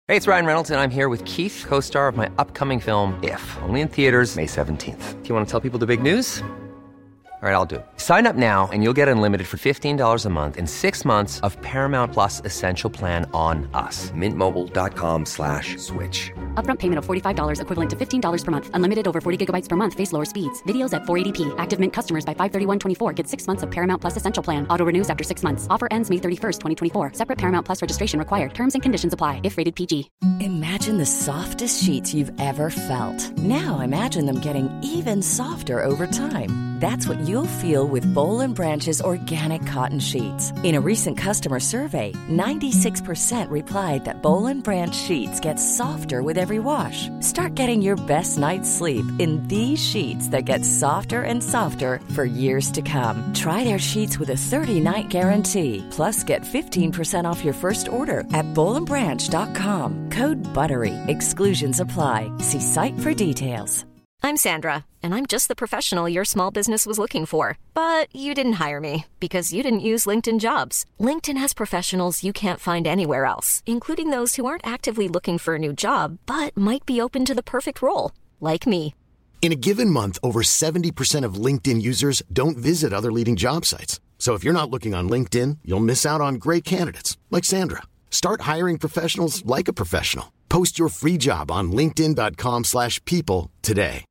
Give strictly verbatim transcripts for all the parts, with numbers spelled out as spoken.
Hey, it's Ryan Reynolds, and I'm here with Keith, co-star of my upcoming film, If, only in theaters May seventeenth. Do you want to tell people the big news? All right, I'll do it. Sign up now and you'll get unlimited for fifteen dollars a month and six months of Paramount Plus Essential Plan on us. Mint Mobile dot com slash switch. Upfront payment of forty-five dollars equivalent to fifteen dollars per month. Unlimited over forty gigabytes per month. Face lower speeds. Videos at four eighty p. Active Mint customers by five thirty-one twenty-four get six months of Paramount Plus Essential Plan. Auto renews after six months. Offer ends May thirty-first, twenty twenty-four. Separate Paramount Plus registration required. Terms and conditions apply if rated P G. Imagine the softest sheets you've ever felt. Now imagine them getting even softer over time. That's what you'll feel with Boll and Branch's organic cotton sheets. In a recent customer survey, ninety-six percent replied that Boll and Branch sheets get softer with every wash. Start getting your best night's sleep in these sheets that get softer and softer for years to come. Try their sheets with a thirty-night guarantee. Plus, get fifteen percent off your first order at boll and branch dot com. Code BUTTERY. Exclusions apply. See site for details. I'm Sandra, and I'm just the professional your small business was looking for. But you didn't hire me because you didn't use LinkedIn Jobs. LinkedIn has professionals you can't find anywhere else, including those who aren't actively looking for a new job, but might be open to the perfect role, like me. In a given month, over seventy percent of LinkedIn users don't visit other leading job sites. So if you're not looking on LinkedIn, you'll miss out on great candidates, like Sandra. Start hiring professionals like a professional. Post your free job on linkedin dot com slash people today.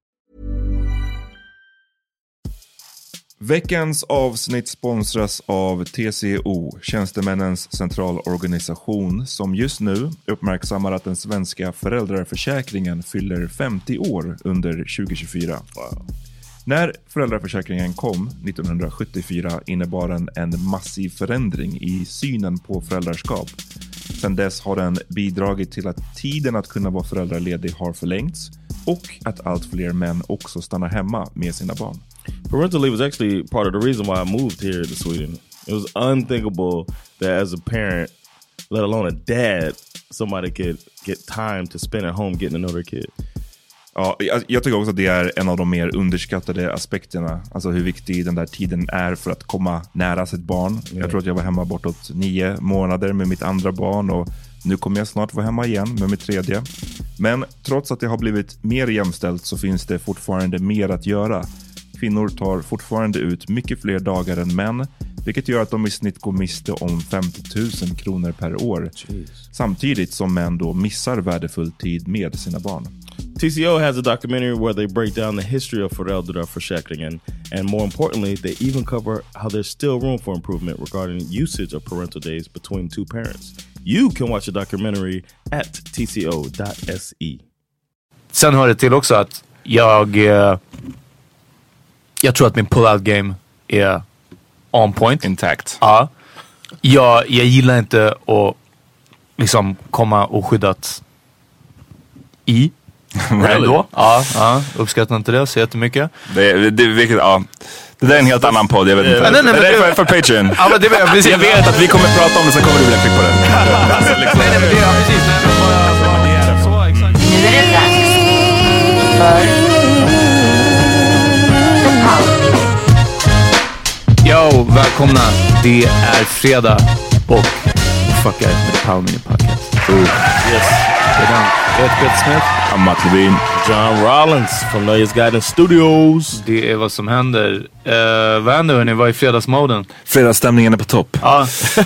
Veckans avsnitt sponsras av T C O, Tjänstemännens centralorganisation, som just nu uppmärksammar att den svenska föräldraförsäkringen fyller femtio år under tjugo tjugofyra. Wow. När föräldraförsäkringen kom nittonhundrasjuttiofyra innebar den en massiv förändring i synen på föräldraskap. Sedan dess har den bidragit till att tiden att kunna vara föräldraledig har förlängts och att allt fler män också stannar hemma med sina barn. Parental leave was actually part of the reason why I moved here to Sweden. It was unthinkable that as a parent, let alone a dad, somebody could get time to spend at home getting to know their kid. Ja, jag, jag tycker också att det är en av de mer underskattade aspekterna. Alltså hur viktig den där tiden är för att komma nära sitt barn. Yeah. Jag tror att jag var hemma bortåt nio månader med mitt andra barn och nu kommer jag snart vara hemma igen med mitt tredje. Men trots att det har blivit mer jämställt så finns det fortfarande mer att göra. Kvinnor tar fortfarande ut mycket fler dagar än män, vilket gör att de i snitt går miste om femtio tusen kronor per år. Jeez. Samtidigt som män då missar värdefull tid med sina barn. T C O has a documentary where they break down the history of föräldraförsäkringen, and more importantly, they even cover how there's still room for improvement regarding usage of parental days between two parents. You can watch the documentary at t c o dot s e. Sen hör det till också att jag eh, jag tror att min pull-out game är on point. Intact. Ja. Jag, jag gillar inte att liksom komma oskyddat i. Really? Då. Ja, ja, uppskattar inte det så jättemycket. Det, det, vilket, ja. Det där är en helt annan podd, jag vet inte. Nej, nej, nej, det är det, för, för Patreon. Ja, men det är precis. Jag vet att vi kommer prata om det, så kommer du vilja klicka på det. Nej, nej, men det är precis. Så, exakt. Nu är det dags för Yo, välkomna. Det är fredag och fuckar med The Power Mini Podcast. Ooh. Yes. Det är den. Jag heter Peter Smith. I'm Matt Levin. John Rollins from Nöjes Guidance Studios. Det är vad som händer. Uh, vad händer hörni? Vad är fredagsmoden? Fredagsstämningen är på topp. Ja.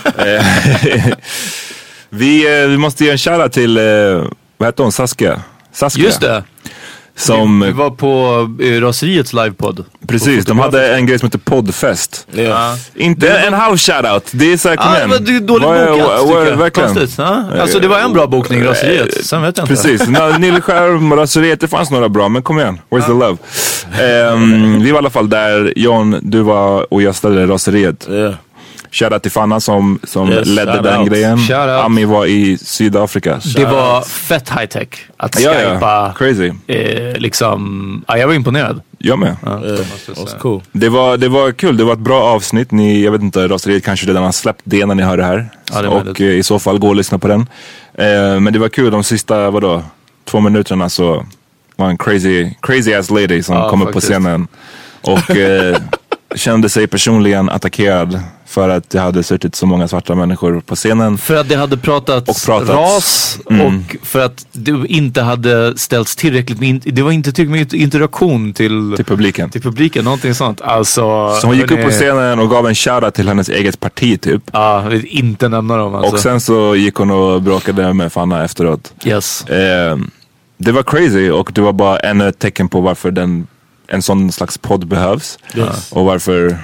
vi, vi måste ge en shoutout till, uh, vad heter hon? Saskia. Saskia. Just det. Som, vi, vi var på uh, Raseriets livepodd. Precis, de hade en grej som heter Poddfest. Ja. Inte en halv shoutout. Det är så här, kom ah, igen. Men det är dåligt var, bokat, var, var, tycker jag. Konstigt, ha? Alltså det var en bra bokning, Raseriet. Sen vet jag inte. Precis, Nilleskärm och Raseriet, det fanns några bra, men kom igen. Where's ja. the love? Um, vi var i alla fall där. John, du var och gästade Raseriet. Yeah. Shoutout till Fanna som, som yes, ledde den out. grejen. Ami var i Sydafrika. Shout det var out. Fett high tech att ja, skypa. Ja. Crazy. Eh, liksom, ja, jag var imponerad. Jag med. Ja, yeah. det, cool. det, var, det var kul, det var ett bra avsnitt. Ni, jag vet inte, Raseriet kanske redan har släppt det när ni hör det här. Ja, det och eh, i så fall gå och lyssna på den. Eh, men det var kul, de sista, vadå, två minuterna så var en crazy, crazy ass lady som ja, kom faktiskt. upp på scenen. Och... Eh, kände sig personligen attackerad För att det hade suttit så många svarta människor på scenen. För att det hade pratats, pratats. ras mm. och för att det inte hade ställts tillräckligt med, det var inte tillräckligt med interaktion till, till publiken. Till publiken, någonting sånt. Alltså, så hon gick upp på scenen och gav en shoutout till hennes eget parti typ. Ja, jag vill inte nämna dem alltså. Och sen så gick hon och bråkade med Fanna efteråt. Yes. Eh, det var crazy och det var bara ännu ett tecken på varför den, en sån slags podd behövs. Yes. Och varför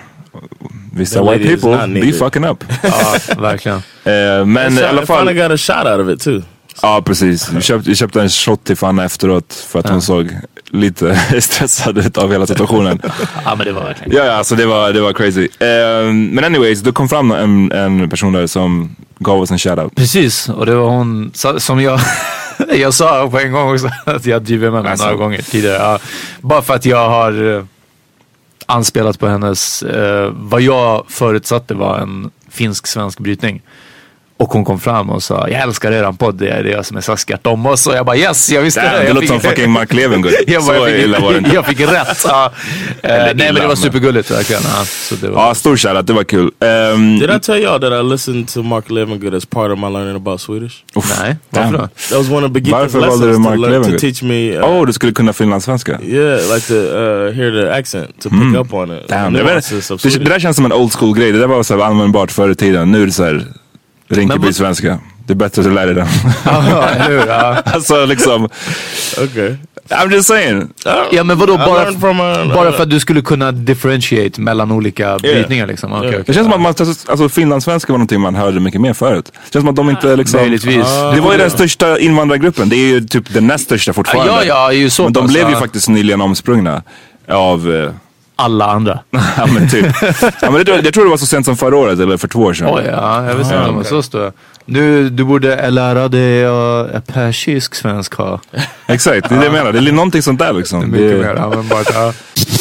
vissa white people be fucking up. Ja, verkligen. eh, men i alla fall... Fanna got a shot out of it too. Ja, precis. Vi köpte, vi köpte en shot till Fanna efteråt för att ja. hon såg lite stressad ut av hela situationen. Ja, men det var verkligen. Ja, ja, alltså det var, det var crazy. Uh, men anyways, då kom fram en, en person där som gav oss en shoutout. Precis, och det var hon som jag... jag sa på en gång också att jag driver med henne alltså. några gånger tidigare. Ja, bara för att jag har uh, anspelat på hennes... Uh, vad jag förutsatte var en finsk-svensk brytning. Och hon kom fram och sa, jag älskar eran podd, det är det som är saskat om oss. Och jag bara, yes, jag visste Damn, det. Det jag låter fick... som fucking Mark Levengood. jag, bara, så jag, fick, illa var det inte. jag fick rätt. Ja. uh, nej, men det var supergulligt verkligen. Ja, så det var... ja, stor shoutout, det var kul. Um, Did I tell y'all that I listened to Mark Levengood as part of my learning about Swedish? Uff, nej, varför då? That was one of the beginners lessons to, learn, to teach me. Åh, uh, oh, du skulle kunna finlandssvenska? Yeah, like to uh, hear the accent, to pick mm. up on it. Damn, det, det, det där känns som en old school grej. Det där var så här användbart förr i tiden. Nu är det så här Rinkeby-svenska. Det är bättre att lära dig den. Ja, eller hur? Ja. Alltså liksom... Okay. I'm just saying. Ja, men vadå? Bara, a, bara för att du skulle kunna differentiate mellan olika yeah. brytningar liksom. Okay, yeah. okay. Det känns som att man, alltså finlandssvenska var någonting man hörde mycket mer förut. Det känns som att de inte liksom... Möjligtvis. Ah, det var ju den största invandrargruppen. Det är ju typ den näst största fortfarande. Ja, ja, ju så. Men de blev ju faktiskt nyligen omsprungna av... Uh, alla andra. Ja, men typ. Ja, men det, jag tror det var så sent som förra året eller för två år sedan. Oh, ja, jag visste inte om det så stod. Du, du borde lära dig uh, persisk svenska. Exakt, det är det jag menar. Det är någonting sånt där liksom. Det är mycket det... mer användbart. Ja.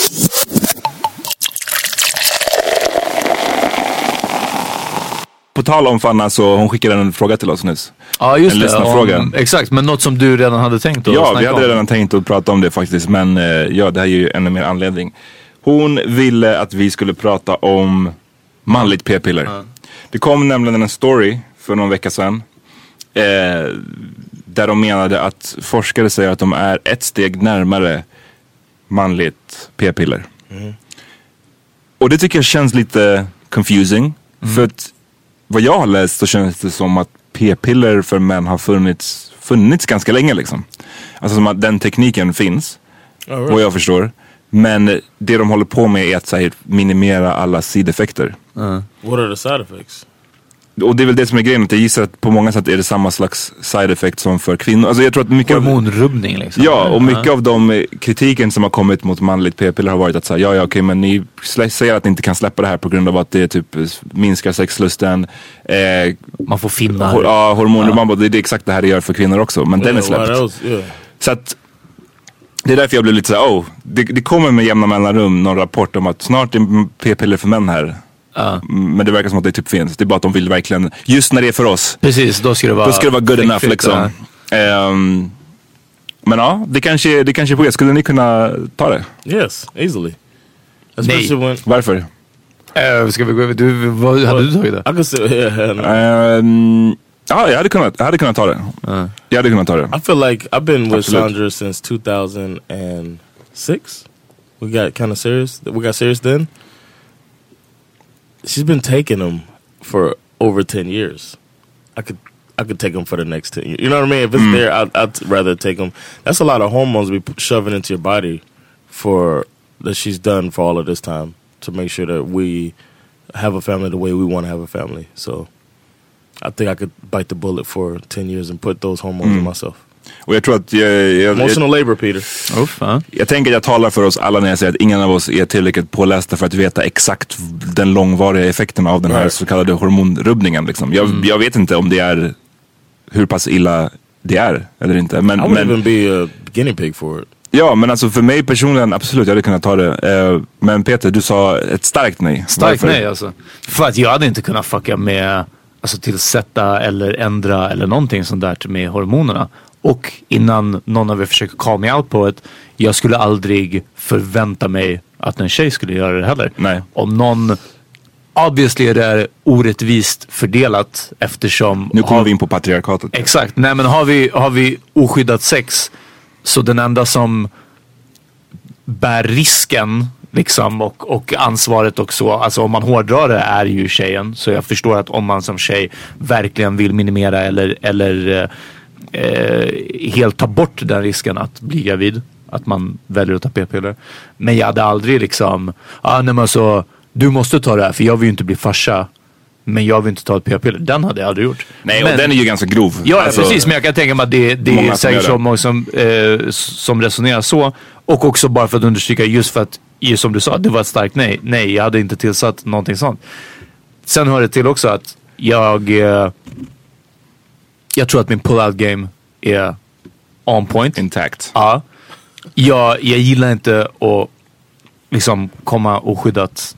På tal om Fanna så hon skickade en fråga till oss nyss. Ja, just en det. Om, exakt, men något som du redan hade tänkt att Ja, vi hade redan om. tänkt att prata om det faktiskt. Men uh, ja, det här är ju ännu mer anledning. Hon ville att vi skulle prata om manligt p-piller. Mm. Det kom nämligen en story för någon vecka sedan. Eh, där de menade att forskare säger att de är ett steg närmare manligt p-piller. Mm. Och det tycker jag känns lite confusing. Mm. För att vad jag har läst så känns det som att p-piller för män har funnits, funnits ganska länge liksom. Alltså som att den tekniken finns. Oh, right. Vad jag förstår. Men det de håller på med är att så här, minimera alla sideffekter. Uh. What are the side effects? Och det är väl det som är grejen. Att jag gissar att på många sätt är det samma slags side effect som för kvinnor. Alltså jag tror att mycket hormonrubbning liksom. Ja, och mycket uh. av de kritiken som har kommit mot manligt p-piller har varit att säga ja, ja, okej, okay, men ni säger att ni inte kan släppa det här på grund av att det typ minskar sexlusten. Eh, man får finna. Hor- ja, hormoner. Uh. Man bara, det är exakt det här det gör för kvinnor också. Men yeah, den är släppt. Else, yeah. Så att det är därför jag blev lite såhär, oh, det, det kommer med jämna mellanrum någon rapport om att snart är p-piller för män här. Uh. Men det verkar som att det typ finns. Det är bara att de vill verkligen, just när det är för oss. Precis, då ska det vara, då ska det vara good enough liksom. Um, men ja, det kanske, det kanske är på er. Skulle ni kunna ta det? Yes, easily. Nej, when... varför? Uh, ska vi gå över, du, vad hade du tagit det? I could say, yeah, no. um, Ja, jag hade kunnat, jag hade kunnat ta det. Uh. Jag hade kunnat ta det. I feel like I've been with Absolut. Sandra since two thousand six. We got kind of serious. We got serious then. She's been taking them for over ten years. I could I could take them for the next ten years. You know what I mean? If it's mm. there, I'd, I'd rather take them. That's a lot of hormones we shoving into your body for that she's done for all of this time to make sure that we have a family the way we want to have a family. So I think I could bite the bullet for ten years and put those hormones mm. in myself. Och jag tror att jag, jag, Emotional jag, labor, Peter. Oh, fan. Jag tänker att jag talar för oss alla när jag säger att ingen av oss är tillräckligt pålästa för att veta exakt den långvariga effekten av den här right. så kallade hormonrubbningen. Liksom. Jag, mm. jag vet inte om det är hur pass illa det är eller inte. Men, I would men, even be a guinea pig for it. Ja, men alltså för mig personligen, absolut, jag hade kunnat ta det. Men Peter, du sa ett starkt nej. Starkt nej alltså. För att jag hade inte kunnat fucka med, alltså tillsätta eller ändra eller någonting sånt där med hormonerna. Och innan någon av er försöker call me out på ett, jag skulle aldrig förvänta mig att en tjej skulle göra det heller. Nej. Om någon obviously är det orättvist fördelat eftersom... Nu kommer har, vi in på patriarkatet. Exakt. Nej, men har vi, har vi oskyddat sex, så den enda som bär risken liksom, och, och ansvaret också, alltså om man hårdrar det, är ju tjejen. Så jag förstår att om man som tjej verkligen vill minimera eller, eller eh, helt ta bort den risken att bli gravid, att man väljer att ta p-piller. Men jag hade aldrig liksom, ah, nej men så du måste ta det här för jag vill ju inte bli farsa, men jag vill inte ta ett p-piller. Den hade jag aldrig gjort. Nej, men, och den är ju ganska grov. Ja, alltså, precis. Men jag kan tänka mig att det, det är säkert så många som, eh, som resonerar så. Och också bara för att understryka, just för att, just som du sa, det var ett starkt nej. Nej, jag hade inte tillsatt någonting sånt. Sen hör det till också att jag eh, jag tror att min pull-out game är on point. Intact. Ja. Jag, jag gillar inte att liksom komma oskyddat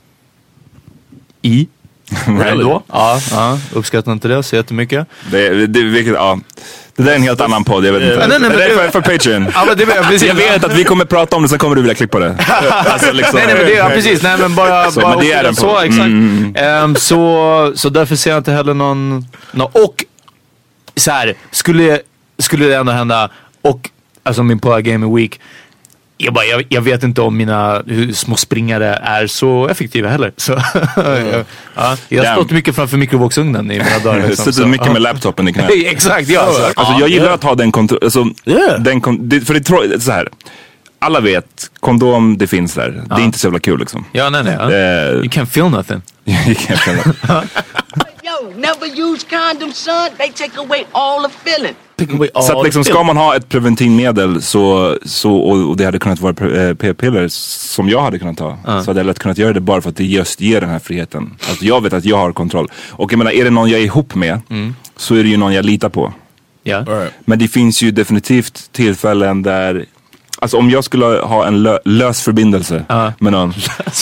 i. Really? Ja, ja, uppskattar inte det så jättemycket. Det, det, vilket, ja. Det där är en helt annan podd, jag vet inte. Nej, nej, det är för, för Patreon. Ja, men det är, precis. Jag vet att vi kommer prata om det, så kommer du vilja klippa det. Alltså, liksom. Nej, nej, men det är ja, precis. Nej, men bara, så, bara men det är den så, exakt. Mm. Um, så, så därför ser jag inte heller någon... någon och så här, skulle, skulle det ändå hända, och alltså min pull-out game är weak. Jag, bara, jag, jag vet inte om mina hur små springare är så effektiva heller. Så, mm. ja, jag har stått mycket framför mikrovågsugnen i mina dagar. Liksom, så mycket med laptopen i knät. Exakt, ja. Alltså, alltså, jag gillar yeah. att ha den kontroll. Alltså, yeah. den kon- det, för det är så här. Alla vet, kondom, det finns där. Ja. Det är inte så jävla kul liksom. Ja, nej, nej. Ja. Uh, you can't feel nothing. You can't feel nothing. Yo, never use condoms, son. They take away all the feeling. Så att liksom, ska man ha ett preventivmedel så, så, och, och det hade kunnat vara p-piller som jag hade kunnat ta, uh. så hade jag lätt kunnat göra det bara för att det just ger den här friheten. Alltså jag vet att jag har kontroll. Och jag menar, är det någon jag är ihop med mm. så är det ju någon jag litar på. Yeah. Right. Men det finns ju definitivt tillfällen där, alltså om jag skulle ha en lö- lös förbindelse uh. med någon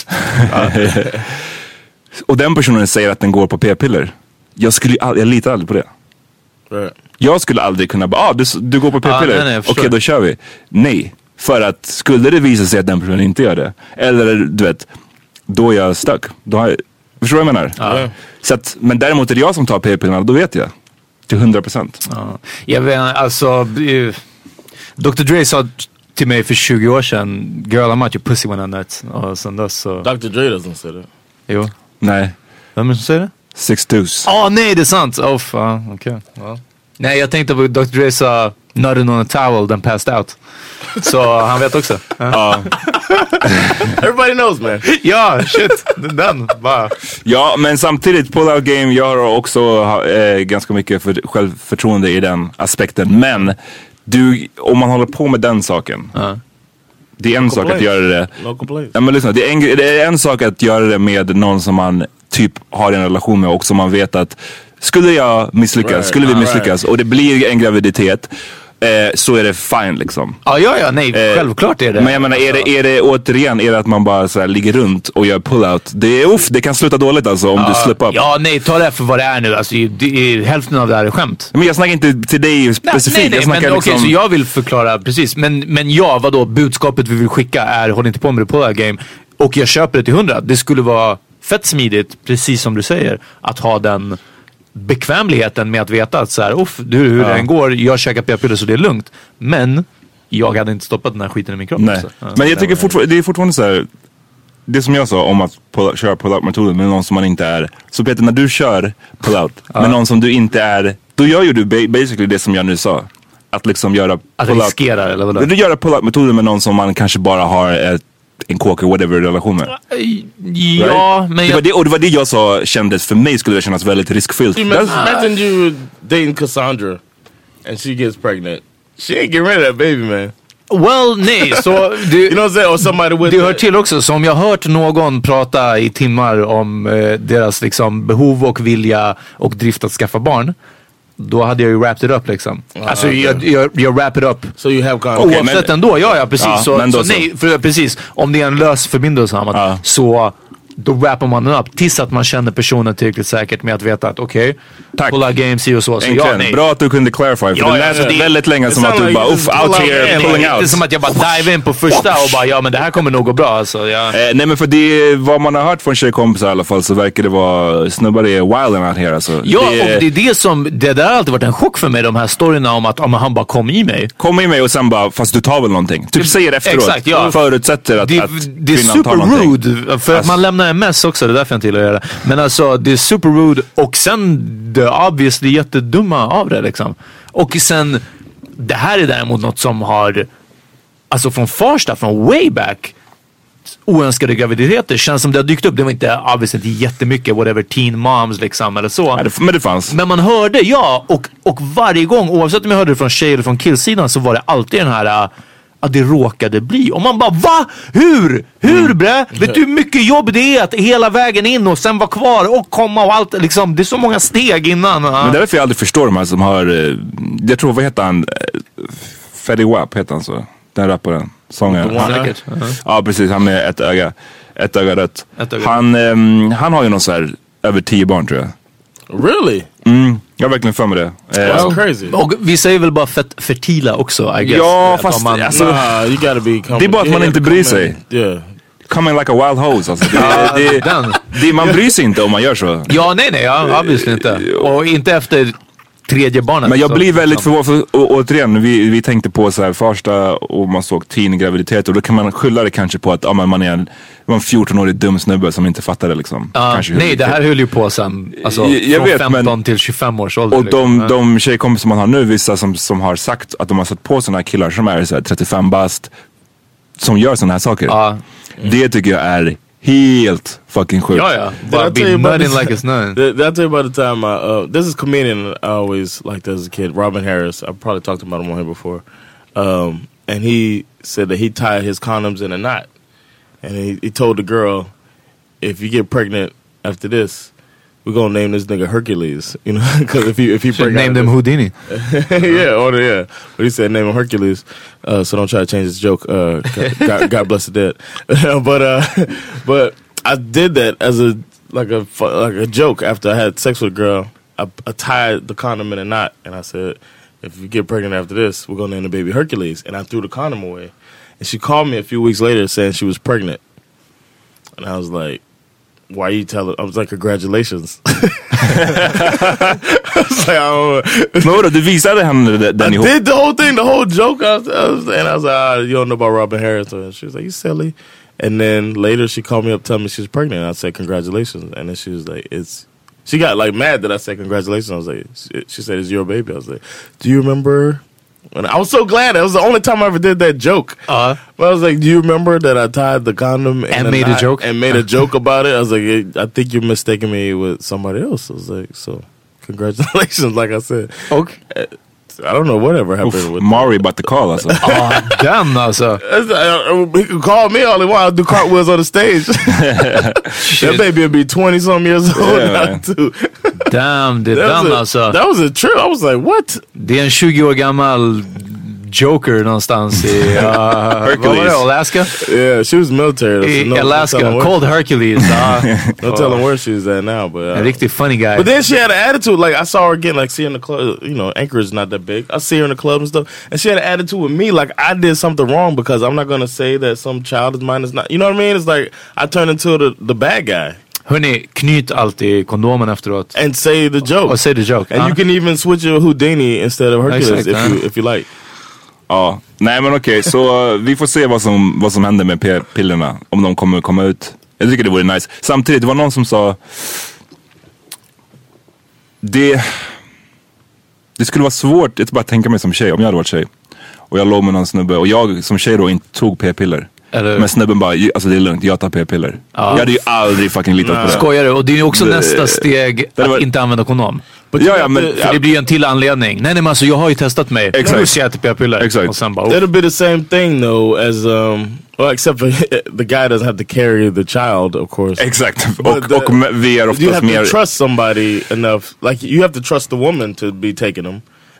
och den personen säger att den går på p-piller, jag, skulle, jag litar aldrig på det. Right. Jag skulle aldrig kunna bara, ah, du, du går på p-piller, ah, okej okay, då kör vi. Nej, för att skulle det visa sig att den personen inte gör det, eller du vet, då är jag stuck. Då har jag, förstår du vad jag menar? Ah. Så att, men däremot är det jag som tar p-pillerna, då vet jag. Till hundra procent. Ah. Jag vet, alltså doktor Dre sa till mig för tjugo år sedan, girl I'm out your pussy when I'm nuts. Och sen dess så... doktor Dre doesn't say that. Jo. Nej. Vem är det som säger det? Six Deuce. Åh oh, nej, det är sant. Oh fan, okej. Okay. Well. Nej, jag tänkte på doktor Dre sa nutted on a towel, then passed out. Så han vet också. Ja. Everybody knows, man. Ja, shit. Den, bara. Ja, men samtidigt, pull-out game, jag har också äh, ganska mycket för, självförtroende i den aspekten. Men du, om man håller på med den saken, uh. det är en no sak att göra det. No ja, men lyssna, det är, en, det är en sak att göra det med någon som man typ har en relation med och som man vet att skulle jag misslyckas, right. skulle vi misslyckas right. och det blir en graviditet, eh, så är det fine liksom. Ja, ja, ja, nej, eh, självklart är det. Men jag menar, är det, är det återigen, är det att man bara så här ligger runt och gör pull-out? Det är uff, det kan sluta dåligt alltså om ja, du slipper upp. Ja, nej, ta det för vad det är nu. Alltså, det är, hälften av det här är skämt. Men jag snackar inte till dig specifikt. Nej, nej, jag men liksom... okej, så jag vill förklara, precis. Men, men ja, vadå, budskapet vi vill skicka är, håll inte på med det pull-out game. Och jag köper det till hundra. Det skulle vara fett smidigt, precis som du säger, att ha den bekvämligheten med att veta att så här, uff, du, hur ja. det än går, jag käkar p-piller så det är lugnt. Men jag hade inte stoppat den här skiten i min kropp. Nej. Ja, men jag tycker fortfarande, det är fortfarande så här, det som jag sa om att pull, köra pull-out-metoden med någon som man inte är. Så Peter, när du kör pull-out ja. med någon som du inte är, då gör ju du basically det som jag nu sa. Att liksom göra att pull-out. Att riskera eller vad? Du gör pull-out-metoden med någon som man kanske bara har ett en kåker whatever relation med. Ja, right? men det var det, och det var det jag sa kändes, för mig skulle det kännas väldigt riskfyllt. Imagine you dating Cassandra and she gets pregnant. She ain't getting rid of that baby, man. Well, nej, så du, you know what I'm saying? Or somebody with det hör till också, så om jag hört någon prata i timmar om eh, deras liksom behov och vilja och drift att skaffa barn, då hade jag ju wrapped it up liksom. Ah, alltså okay. jag, jag, jag wrap it up. So you have kind of oavsett okay, ändå, ja ja precis. Ja, så, så, så nej, för, precis. Om det är en lös förbindelse ah. så då wrappar man den upp tills att man känner personen tillräckligt säkert med att veta att okej, okay, pull out game, see och så. så ja, nej. Bra att du kunde clarify, för ja, det lät ja, ja. väldigt länge som att du like bara, uff, out here, pulling out. Det är som att jag bara dive in på första och bara, ja men det här kommer nog gå bra. Alltså, ja. eh, nej men för det, vad man har hört från tjejkompisar i alla fall, så verkar det vara snubbar är wild out here. Alltså. Ja, det, och det är det som, det där har alltid varit en chock för mig, de här storyna om att om han bara kom i mig. Kom i mig och sen bara, fast du tar väl någonting. Typ säger efteråt, exakt, ja. förutsätter att, det, att det är super rude, för att man lämnar en mess också, det är därför jag inte gillar att göra det. Men alltså, det är super rude och sen det är obviously jättedumma av det liksom. Och sen, det här är däremot något som har, alltså från första, från way back, oönskade graviditeter känns som det har dykt upp. Det var inte obviously jättemycket whatever teen moms liksom eller så. Nej, det, men det fanns. Men man hörde, ja, och, och varje gång, oavsett om jag hörde det från tjej eller från killsidan, så var det alltid den här att det råkade bli. Och man bara, va? Hur? Hur mm. bre? Vet du hur mycket jobb det är att hela vägen in och sen vara kvar och komma och allt liksom. Det är så många steg innan. Men det är därför jag aldrig förstår de här som har, jag tror, vad heter han? Fetty Wap heter han så. Den rapparen. Sångaren. Uh-huh. Ja, precis. Han är ett öga. Ett öga rött. Ett öga. Han, um, han har ju någon så här över tio barn, tror jag. Really? Mm, jag har verkligen för mig det. That's uh, crazy. Och vi säger väl bara fet- fertila också, I guess. Ja, fast man, alltså, nah, you gotta be det är bara att man inte bryr sig. Yeah. Coming like a wild hose alltså. Det, det, det, det, man bryr sig inte om man gör så. Ja, nej, nej, ja, obviously inte. Och inte efter tredje barnet. Men jag blir väldigt förvånad, för å, återigen, vi, vi tänkte på så här första och man såg teen graviditet, och då kan man skylla det kanske på att ja, man är en, en fjorton-årig dum snubbe som inte fattar det liksom. Uh, kanske nej, det här höll ju på sen, alltså, jag från vet, femton men, till tjugofem års ålder. Och de, liksom. de tjejkompisar man har nu, vissa som, som har sagt att de har satt på såna här killar som är så här trettiofem bast, som gör såna här saker. Uh, mm. Det tycker jag är helt fucking sjukt. Ja, ja. Bara be nutting like it's none. Did I tell you about the time I, uh, this is a comedian I always liked as a kid, Robin Harris. I've probably talked about him on here before. Um, and he said that he tied his condoms in a knot. And he, he told the girl, if you get pregnant after this, we're gonna name this nigga Hercules. You know, because if you if you should name them Houdini. yeah, or yeah. But he said name him Hercules. Uh, so don't try to change this joke. Uh, God, God bless the dead. but uh, but I did that as a like a like a joke after I had sex with a girl. I, I tied the condom in a knot, and I said, if you get pregnant after this, we're gonna name the baby Hercules. And I threw the condom away. And she called me a few weeks later saying she was pregnant, and I was like, why are you telling? I was like, congratulations. I was like, I don't know. Men vadå, du visade henne den I ihop? did the whole thing, the whole joke. I was, I was, and I was like, ah, you don't know about Robin Harris. And she was like, you silly. And then later she called me up telling me she was pregnant. And I said, congratulations. And then she was like, it's, she got like mad that I said congratulations. I was like, she, she said, it's your baby. I was like, do you remember? And I was so glad. It was the only time I ever did that joke. Uh-huh. But I was like, do you remember that I tied the condom and, and made a joke? And made a joke about it? I was like, I think you're mistaking me with somebody else. I was like, so congratulations, like I said. Okay. I don't know whatever happened Oof, with Mari about to call us. Oh, damn, also. He can call me all he wants. I'll do cartwheels on the stage. That baby will be twenty-some years old yeah, now, too. Damn, det är den alltså. That was a trip. I was like, what? Det är en tjugo år gammal Joker någonstans i uh, Hercules. Alaska? Yeah, she was military. I no, Alaska, no called Hercules. Uh, don't tell him where she's at now. But uh, a riktigt funny guy. But then she had an attitude. Like I saw her again, like see her in the club. You know, Anchorage not that big. I see her in the club and stuff, and she had an attitude with me, like I did something wrong because I'm not gonna say that some child of mine is not. You know what I mean? It's like I turned into the the bad guy. Hörni, knyt alltid kondomen efteråt. And say the joke. Or say the joke. And huh? you can even switch your Houdini instead of Hercules exactly, if huh? you if you like. Ja, nej men okej, okay, så vi får se vad som, vad som händer med p-pillerna. Om de kommer komma ut. Jag tycker det vore nice. Samtidigt, det var någon som sa Det Det skulle vara svårt, jag bara tänka mig som tjej, om jag hade varit tjej och jag låg med någon snubbe och jag som tjej då inte tog p-piller. Eller... Men snubben bara, alltså det är lugnt, jag tar p-piller. Ja. Jag hade ju aldrig fucking litat på det. Skojar du? Och det är ju också det, nästa steg att var... inte använda kondom. Ja, ja, men, för det blir ju en till anledning. Nej, nej men alltså jag har ju testat mig. Exakt. Nu ser jag till p-piller. Exakt. Och sen bara, oh. It'll be the same thing though as um well, except for the guy doesn't have to carry the child, of course. Exakt. Och, the, och vi är oftast you have mer... to trust somebody enough. Like you have to trust the woman to be taking them.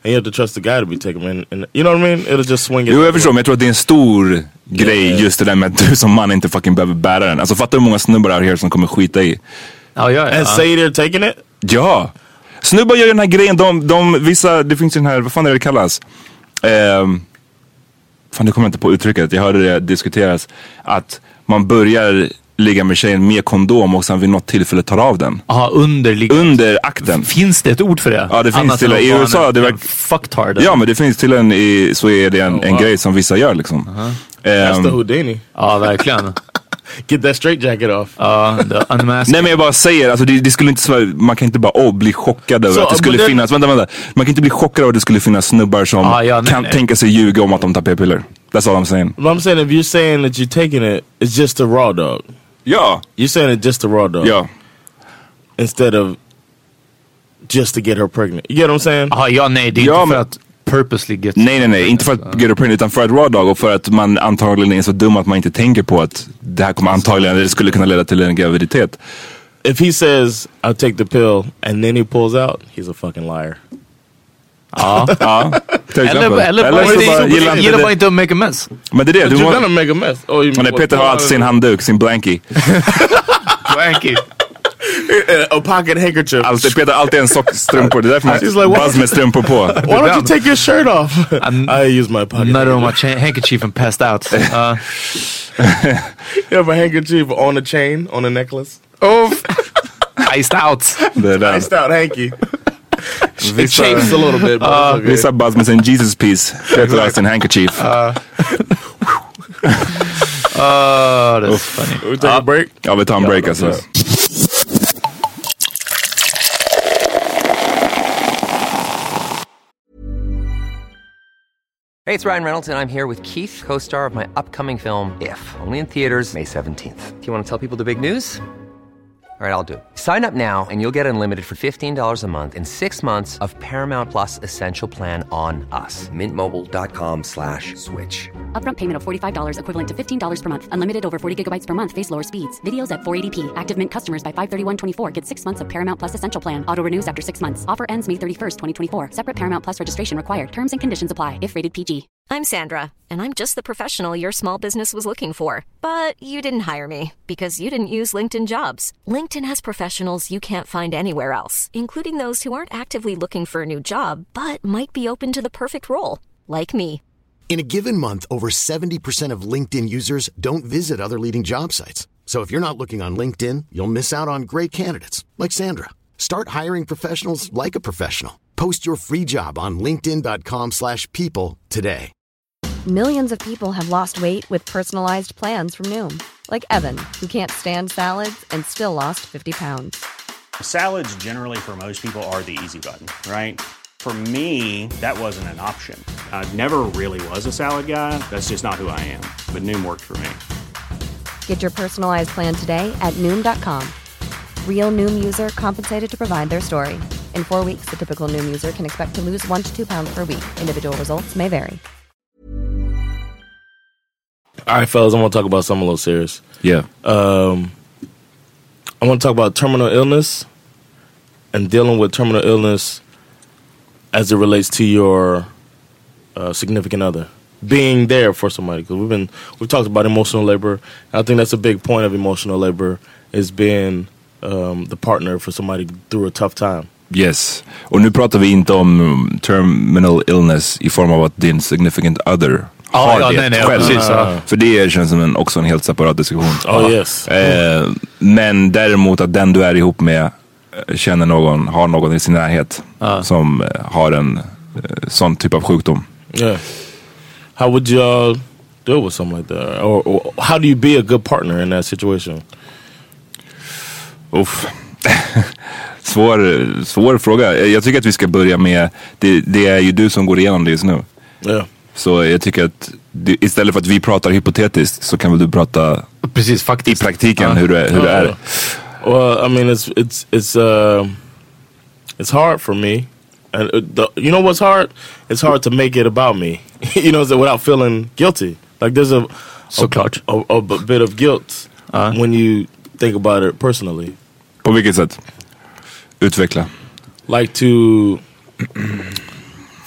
and you have to trust the guy to be taking them. And, and you know what I mean? It'll just swing it. Jo, jag förstår, men jag tror att det är en stor grej yeah. just det där med att du som man inte fucking behöver bära den. Alltså fattar hur många snubbar out here som kommer skita i. Ja, ja, ja. And say they're taking it? Ja. Snubbar gör den här grejen, de, de vissa, det finns ju den här, vad fan är det det kallas? Um, fan, det kommer jag inte på uttrycket. Jag hörde det diskuteras att man börjar ligga med tjejen med kondom och sen vid något tillfälle tar av den. Ja, under, under akten. Finns det ett ord för det? Ja, det finns till i U S A. Det var fucktard. Ja, men det finns till en i, så är det en, oh, en wow. grej som vissa gör liksom. Uh-huh. Um, That's the Houdini. Ja, verkligen. Get that straight jacket off. Ja, uh, Nej, men jag bara säger, alltså det, det skulle inte, man kan inte bara oh, bli chockad över so, att det skulle finnas, then... vänta, vänta. Man kan inte bli chockad över att det skulle finnas snubbar som ah, ja, nej, kan nej. tänka sig ljuga om att de tar p-piller. That's all I'm saying. Well, I'm saying if you're saying that you're taking it, it's just a raw dog. Ja. You're saying it's just a raw dog. Ja. Instead of just to get her pregnant. You get what I'm saying? Ja, ja nej, det är ja, inte för att purposely get... Nej, nej, nej. Inte för att get her pregnant, utan för att raw dog och för att man antagligen är så dum att man inte tänker på att det här kommer antagligen, det skulle kunna leda till en graviditet. If he says, I'll take the pill, and then he pulls out, he's a fucking liar. Ja, ja. Eller, eller, eller bara, bara gillar, gillar bara inte att make a mess. Men det är det. Du måste... make a mess. Oh, men nej, Peter har alltid sin handduk, sin blankie. Blankie. A pocket handkerchief. Alltid, Peter alltid en sockstrumpor. Det är därför man like, buzz med strumpor på. Why don't you take your shirt off? I use my pocket. Not on my cha- handkerchief and passed out. Uh. You have a handkerchief on a chain, on a necklace. Oh, iced out. Iced out hanky. It changes a little bit, but uh, okay. Vissa buzz med sin Jesus piece. Peter har sin handkerchief. Uh. Oh, that's Oof. funny. We take uh, a break? Ja, vi tar en break alltså. Hey, it's Ryan Reynolds, and I'm here with Keith, co-star of my upcoming film, If, only in theaters May seventeenth. Do you want to tell people the big news? All right, I'll do it. Sign up now and you'll get unlimited for fifteen dollars a month and six months of Paramount Plus Essential Plan on us. Mint Mobile dot com slash switch. Upfront payment of forty-five dollars equivalent to fifteen dollars per month. Unlimited over forty gigabytes per month. Face lower speeds. Videos at four eighty p. Active Mint customers by five thirty-one twenty-four get six months of Paramount Plus Essential Plan. Auto renews after six months. Offer ends May thirty-first, twenty twenty-four. Separate Paramount Plus registration required. Terms and conditions apply if rated P G. I'm Sandra, and I'm just the professional your small business was looking for. But you didn't hire me because you didn't use LinkedIn Jobs. LinkedIn has professionals you can't find anywhere else, including those who aren't actively looking for a new job, but might be open to the perfect role, like me. In a given month, over seventy percent of LinkedIn users don't visit other leading job sites. So if you're not looking on LinkedIn, you'll miss out on great candidates like Sandra. Start hiring professionals like a professional. Post your free job on linkedin dot com slash people today. Millions of people have lost weight with personalized plans from Noom. Like Evan, who can't stand salads and still lost fifty pounds. Salads generally for most people are the easy button, right? For me, that wasn't an option. I never really was a salad guy. That's just not who I am. But Noom worked for me. Get your personalized plan today at Noom dot com. Real Noom user compensated to provide their story. In four weeks, the typical Noom user can expect to lose one to two pounds per week. Individual results may vary. All right, fellas, I want to talk about something a little serious. Yeah. Um, I want to talk about terminal illness and dealing with terminal illness as it relates to your uh, significant other. Being there for somebody, because we've been we've talked about emotional labor. And I think that's a big point of emotional labor is being um, the partner for somebody through a tough time. Yes, och nu pratar vi inte om terminal illness i form av att din significant other har ja, det nej, nej, själv. Precis, ja. För det känns som en, också en helt separat diskussion. Oh, yes. eh, men däremot att den du är ihop med känner någon, har någon i sin närhet ah. som har en eh, sån typ av sjukdom. Yeah. How would you deal with something like that? Or, or how do you be a good partner in that situation? Uff. svår, svår fråga. Jag tycker att vi ska börja med det, det är ju du som går igenom det just nu. Yeah. Så jag tycker att det, istället för att vi pratar hypotetiskt så kan väl du prata precis faktiskt i praktiken uh, hur, det, hur uh, det är. Well, I mean it's it's it's uh it's hard for me. And uh, the, you know what's hard? It's hard to make it about me. You know, so without feeling guilty. Like there's a so a, a, a, a bit of guilt uh. when you think about it personally. På vilket sätt? Utveckla. Like to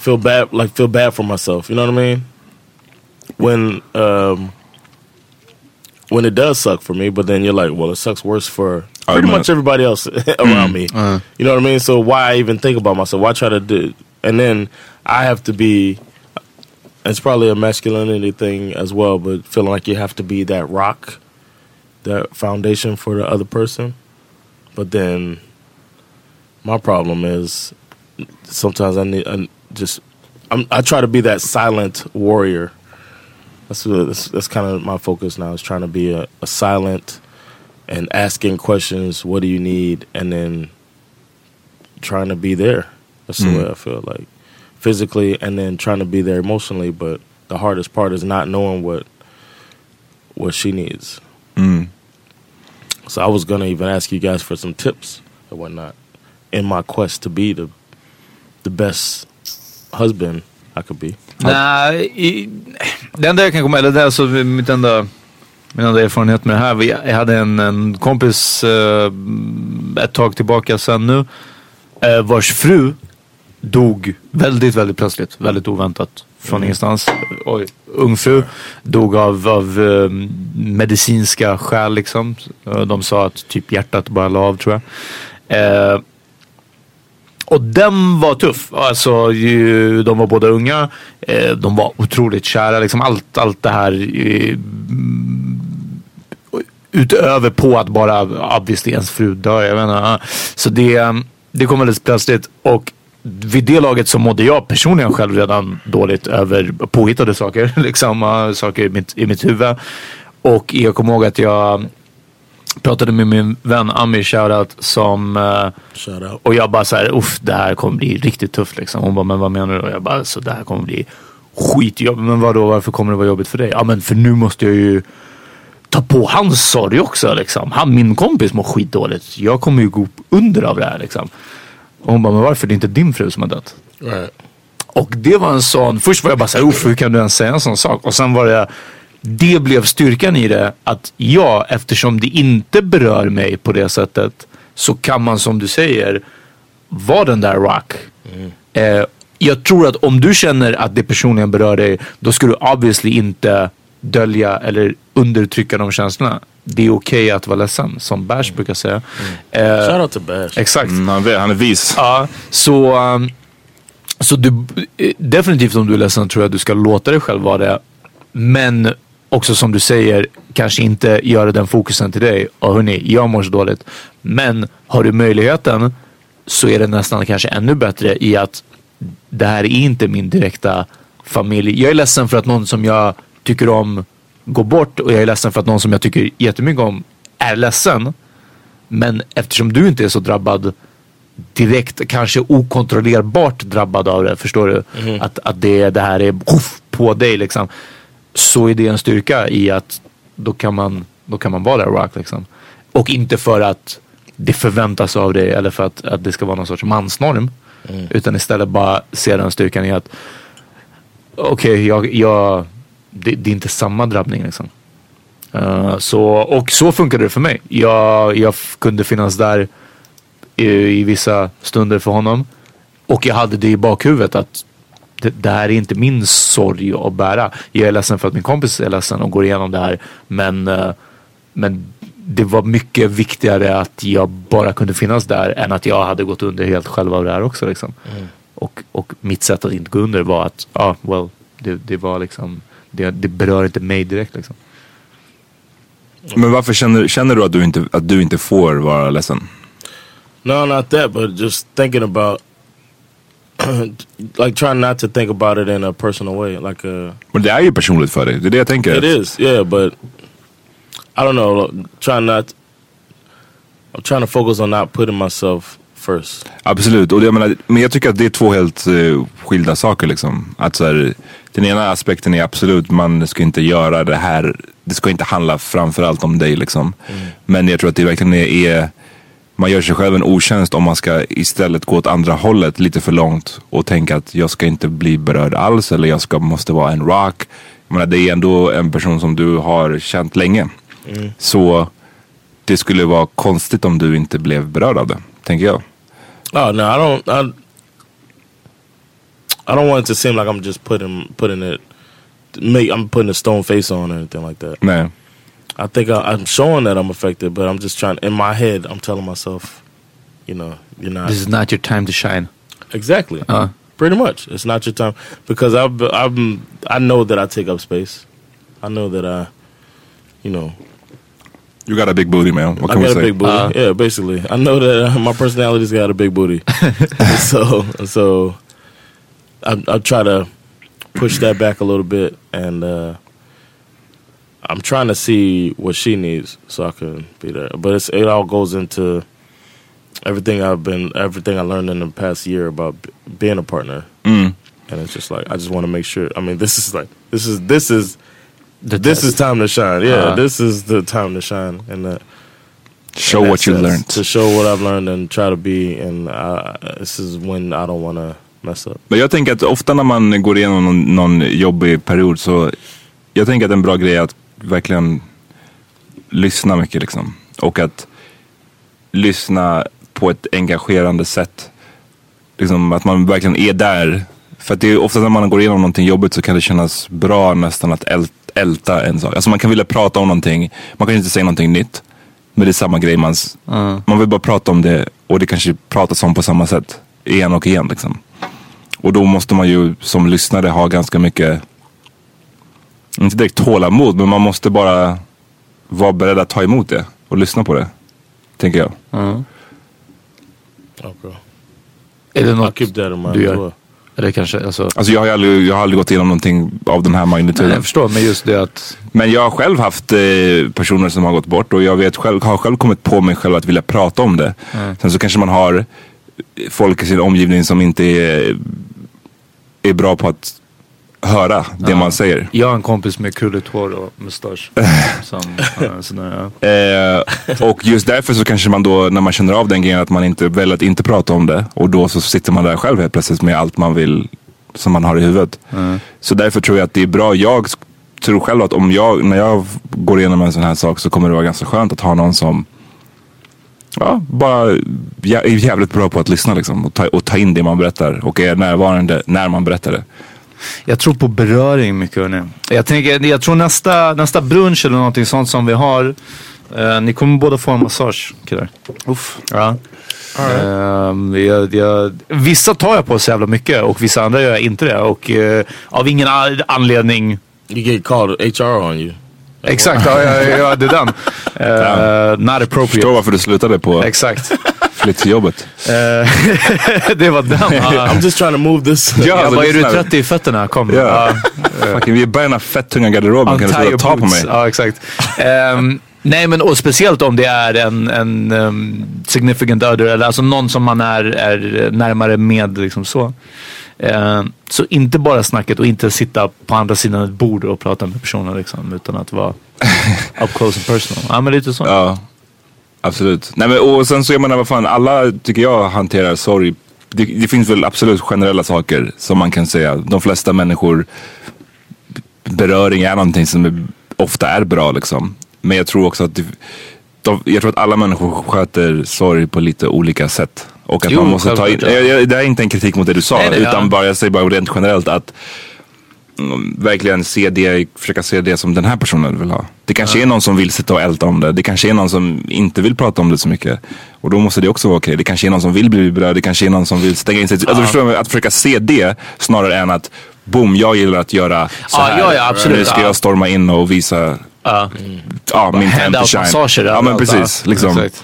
feel bad, like feel bad for myself. You know what I mean? When um, when it does suck for me, but then you're like, well, it sucks worse for pretty much everybody else around me. Uh. You know what I mean? So why even think about myself? Why try to do? And then I have to be. It's probably a masculinity thing as well, but feeling like you have to be that rock, that foundation for the other person. But then my problem is sometimes I need I just I'm, I try to be that silent warrior. That's that's, that's kind of my focus now, is trying to be a, a silent and asking questions. What do you need? And then trying to be there. That's the Mm. way I feel, like physically, and then trying to be there emotionally. But the hardest part is not knowing what what she needs. Mm. So I was gonna even ask you guys for some tips and whatnot in my quest to be the the best husband I could be. Nej, i, det enda jag kan komma, eller det är alltså mitt enda, min enda erfarenhet med det här. Vi, jag hade en, en kompis eh, ett tag tillbaka sen nu, eh, vars fru dog väldigt, väldigt plötsligt, väldigt oväntat från mm. ingenstans. Oj, ung fru dog av, av eh, medicinska skäl liksom. De sa att typ hjärtat bara la av, tror jag. Eh, Och den var tuff. Alltså, ju, de var båda unga. Eh, de var otroligt kära. Liksom allt, allt det här eh, utöver på att bara obviously ens fru dör. Jag vet inte. Så det, det kom väldigt plötsligt. Och vid det laget så mådde jag personligen själv redan dåligt över påhittade saker. Liksom, saker i mitt, i mitt huvud. Och jag kommer ihåg att jag pratade med min vän Amir, shoutout, som uh, Shoutout. och jag bara så här, uff, det här kommer bli riktigt tufft liksom. Hon bara, men vad menar du? Och jag bara, så det här kommer bli skitjobbigt. Men vadå, varför kommer det vara jobbigt för dig? Ja, men för nu måste jag ju ta på hans sorg också liksom. Han, min kompis, mår skitdåligt. Jag kommer ju gå under av det här liksom. Och hon bara, men varför? Det är inte din fru som har dött. Right. Och det var en sån, först var jag bara så här, uff, hur kan du ens säga en sån sak? Och sen var det, det blev styrkan i det, att ja, eftersom det inte berör mig på det sättet, så kan man, som du säger, vara den där rock. Mm. Eh, jag tror att om du känner att det personligen berör dig, då ska du obviously inte dölja eller undertrycka de känslorna. Det är okej okay att vara ledsen, som Bash mm. brukar säga. Mm. Eh, Shout out to Bash. Exakt. Mm, han, är, han är vis. Ja, så, um, så du, definitivt om du är ledsen tror jag att du ska låta dig själv vara det. Men också, som du säger, kanske inte göra den fokusen till dig. Och hörni, jag mår så dåligt. Men har du möjligheten, så är det nästan kanske ännu bättre i att det här är inte min direkta familj. Jag är ledsen för att någon som jag tycker om går bort, och jag är ledsen för att någon som jag tycker jättemycket om är ledsen. Men eftersom du inte är så drabbad direkt, kanske okontrollerbart drabbad av det, förstår du? Mm. Att, att det, det här är uff, på dig liksom. Så är det en styrka i att då kan man, då kan man vara där rock liksom. Och inte för att det förväntas av dig, eller för att, att det ska vara någon sorts mansnorm. Mm. Utan istället bara se den styrkan i att okej, okay, jag, jag det, det är inte samma drabbning liksom. Uh, så, och så funkade det för mig. Jag, jag f- kunde finnas där i, i vissa stunder för honom. Och jag hade det i bakhuvudet att det, det här är inte min sorg att bära. Jag är ledsen för att min kompis är ledsen och går igenom det här. Men, uh, men det var mycket viktigare att jag bara kunde finnas där än att jag hade gått under helt själv av det här också liksom. Mm. Och, och mitt sätt att inte gå under var att ja, ah, well, det, det var liksom det, det berör inte mig direkt liksom. Men varför känner, känner du att du inte att du inte får vara ledsen? No, not that, but just thinking about like trying not to think about it in a personal way, like a. Men det är ju personligt för dig. Det är det jag tänker. It is, yeah, but I don't know. Trying not. I'm trying to focus on not putting myself first. Absolut, och det, jag menar, men jag tycker att det är två helt uh, skilda saker liksom. Att så här, den ena aspekten är absolut, man ska inte göra det här, det ska inte handla framförallt om dig liksom. Mm. Men jag tror att det verkligen är, är man gör sig själv en otjänst om man ska istället gå åt andra hållet lite för långt och tänka att jag ska inte bli berörd alls, eller jag ska, måste vara en rock. Jag menar, det är ändå en person som du har känt länge. Mm. Så det skulle vara konstigt om du inte blev berörd av det, tänker jag. Oh no, I don't. I, I don't want it to seem like I'm just putting putting it, make I'm putting a stone face on or anything like that. Man, I think I, I'm showing that I'm affected, but I'm just trying. In my head, I'm telling myself, you know, you're not. This is not your time to shine. Exactly. Uh. Pretty much, it's not your time because I've I'm I know that I take up space. I know that I, you know. You got a big booty, man. What I can got we a say? big booty. Uh, yeah, basically. I know that my personality's got a big booty. so so I I try to push that back a little bit, and uh, I'm trying to see what she needs so I can be there. But it's, it all goes into everything I've been, everything I learned in the past year about b- being a partner. Mm. And it's just like I just want to make sure. I mean, this is like this is this is The this test. is time to shine. Yeah, Uh-huh. this is the time to shine, and uh, Show in that what you sense, learned. to show what I've learned and try to be. And uh, this is when I don't want to mess up. Men jag tänker att ofta när man går igenom någon, någon jobbig period så jag tänker att en bra grej är att verkligen lyssna mycket liksom. Och att lyssna på ett engagerande sätt. Liksom att man verkligen är där. För att det är ofta när man går igenom någonting jobbigt så kan det kännas bra nästan att äl- älta en sak. Alltså man kan vilja prata om någonting. Man kan inte säga någonting nytt. Men det är samma grej. Man, Mm. man vill bara prata om det. Och det kanske pratas om på samma sätt. Igen och igen liksom. Och då måste man ju som lyssnare ha ganska mycket, inte direkt tålamod, men man måste bara vara beredd att ta emot det och lyssna på det, tänker jag. Mm. Okay. Är det något keep that in mind du as gör? well. Eller kanske, alltså... Alltså jag har, aldrig, jag har aldrig gått igenom någonting av den här magnituden. Nej, jag förstår, men just det att... Men jag har själv haft eh, personer som har gått bort och jag vet själv, har själv kommit på mig själv att vilja prata om det. Mm. Sen så kanske man har folk i sin omgivning som inte är, är bra på att höra det Ja. man säger. Jag har en kompis med krulligt hår och mustasch. som, uh, sådär, ja. Eh, och just därför så kanske man då, när man känner av den grejen, att man inte väljer att inte prata om det. Och då så sitter man där själv helt plötsligt med allt man vill, som man har i huvudet. Mm. Så därför tror jag att det är bra. Jag tror själv att om jag, när jag går igenom en sån här sak, så kommer det vara ganska skönt att ha någon som ja, bara jä- är jävligt bra på att lyssna liksom, och, ta, och ta in det man berättar och är närvarande när man berättar det. Jag tror på beröring mycket, hörni. Jag tänker, jag tror nästa, nästa brunch eller någonting sånt som vi har, eh, ni kommer båda få en massage, killar. Uff. Ja. Um, jag, jag, vissa tar jag på så jävla mycket och vissa andra gör jag inte det. Och uh, av ingen a- anledning... You get called H R on you. Exakt, ja, ja, ja, det är den. Uh, not appropriate. Förstår varför du slutade på Exakt. flyttjobbet. Uh, det var den. Uh, I'm just trying to move this. Ja, jag bara, är du trött i fötterna? Kom. Ja. Uh, Fucking, vi är i början av fett tunga garderoben. Kan du sluta ta på mig? Ja, exakt. Um, nej, men och speciellt om det är en, en um, significant other, eller alltså någon som man är, är närmare med, liksom så. Uh, så inte bara snacket och inte sitta på andra sidan ett bord och prata med personer liksom, utan att vara up close and personal. Ja, men lite så. Ja, absolut. Nej, men, och sen så är man, vad fan, alla tycker jag hanterar sorg. Det, det finns väl absolut generella saker som man kan säga. De flesta människor, beröring är någonting som är, ofta är bra liksom. Men jag tror också att det, de, jag tror att alla människor sköter sorg på lite olika sätt. Och att Jo, man måste ta in, självklart, ja. jag, jag, det är inte en kritik mot det du sa, Nej, nej, utan ja. bara, jag säger bara rent generellt att mm, verkligen se det, försöka se det som den här personen vill ha. Det kanske Ja. är någon som vill sitta och älta om det. Det kanske är någon som inte vill prata om det så mycket. Och då måste det också vara okej. Det kanske är någon som vill bli berörd. Det kanske är någon som vill stänga in sig. Alltså, förstår du, att försöka se det snarare än att boom, jag gillar att göra så Ja, här. ja, ja, absolut. Nu ska Ja. jag storma in och visa Ja. ja, min time to Handout shine. massager. Ja, men allt, precis. ja. Liksom. Exakt.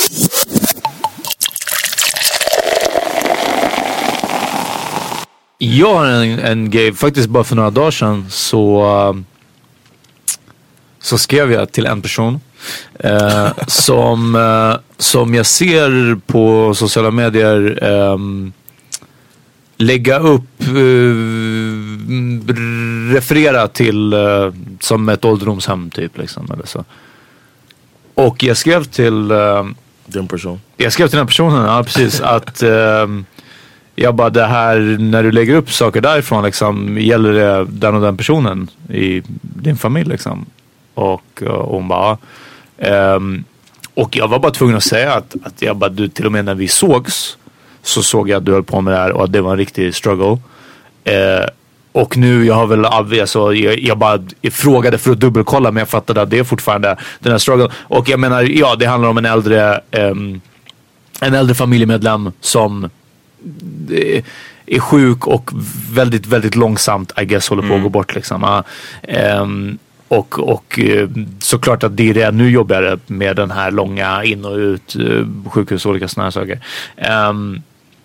Jag har en, en grej, faktiskt bara för några dagar sedan så, uh, så skrev jag till en person uh, som, uh, som jag ser på sociala medier um, lägga upp, uh, referera till uh, som ett ålderdomshem typ liksom, eller så. Och jag skrev till uh, Den person. Jag skrev till den personen, ja precis, att um, jag bara, det här, när du lägger upp saker därifrån liksom, gäller det den och den personen i din familj liksom? Och, och hon bara um, och jag var bara tvungen att säga att, att jag bara, du, till och med när vi sågs så såg jag att du höll på med det här och att det var en riktig struggle. Eh, och nu, jag har väl alltså, jag, jag bara jag frågade för att dubbelkolla, men jag fattade att det är fortfarande den här struggle. Och jag menar, ja, det handlar om en äldre um, en äldre familjemedlem som eh, är sjuk och väldigt, väldigt långsamt, I guess, håller på mm. att gå bort liksom. Uh, um, och, och uh, såklart att det är det nu jobbigare med den här långa in och ut uh, sjukhus och olika sådana här saker. Um,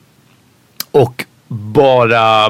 och bara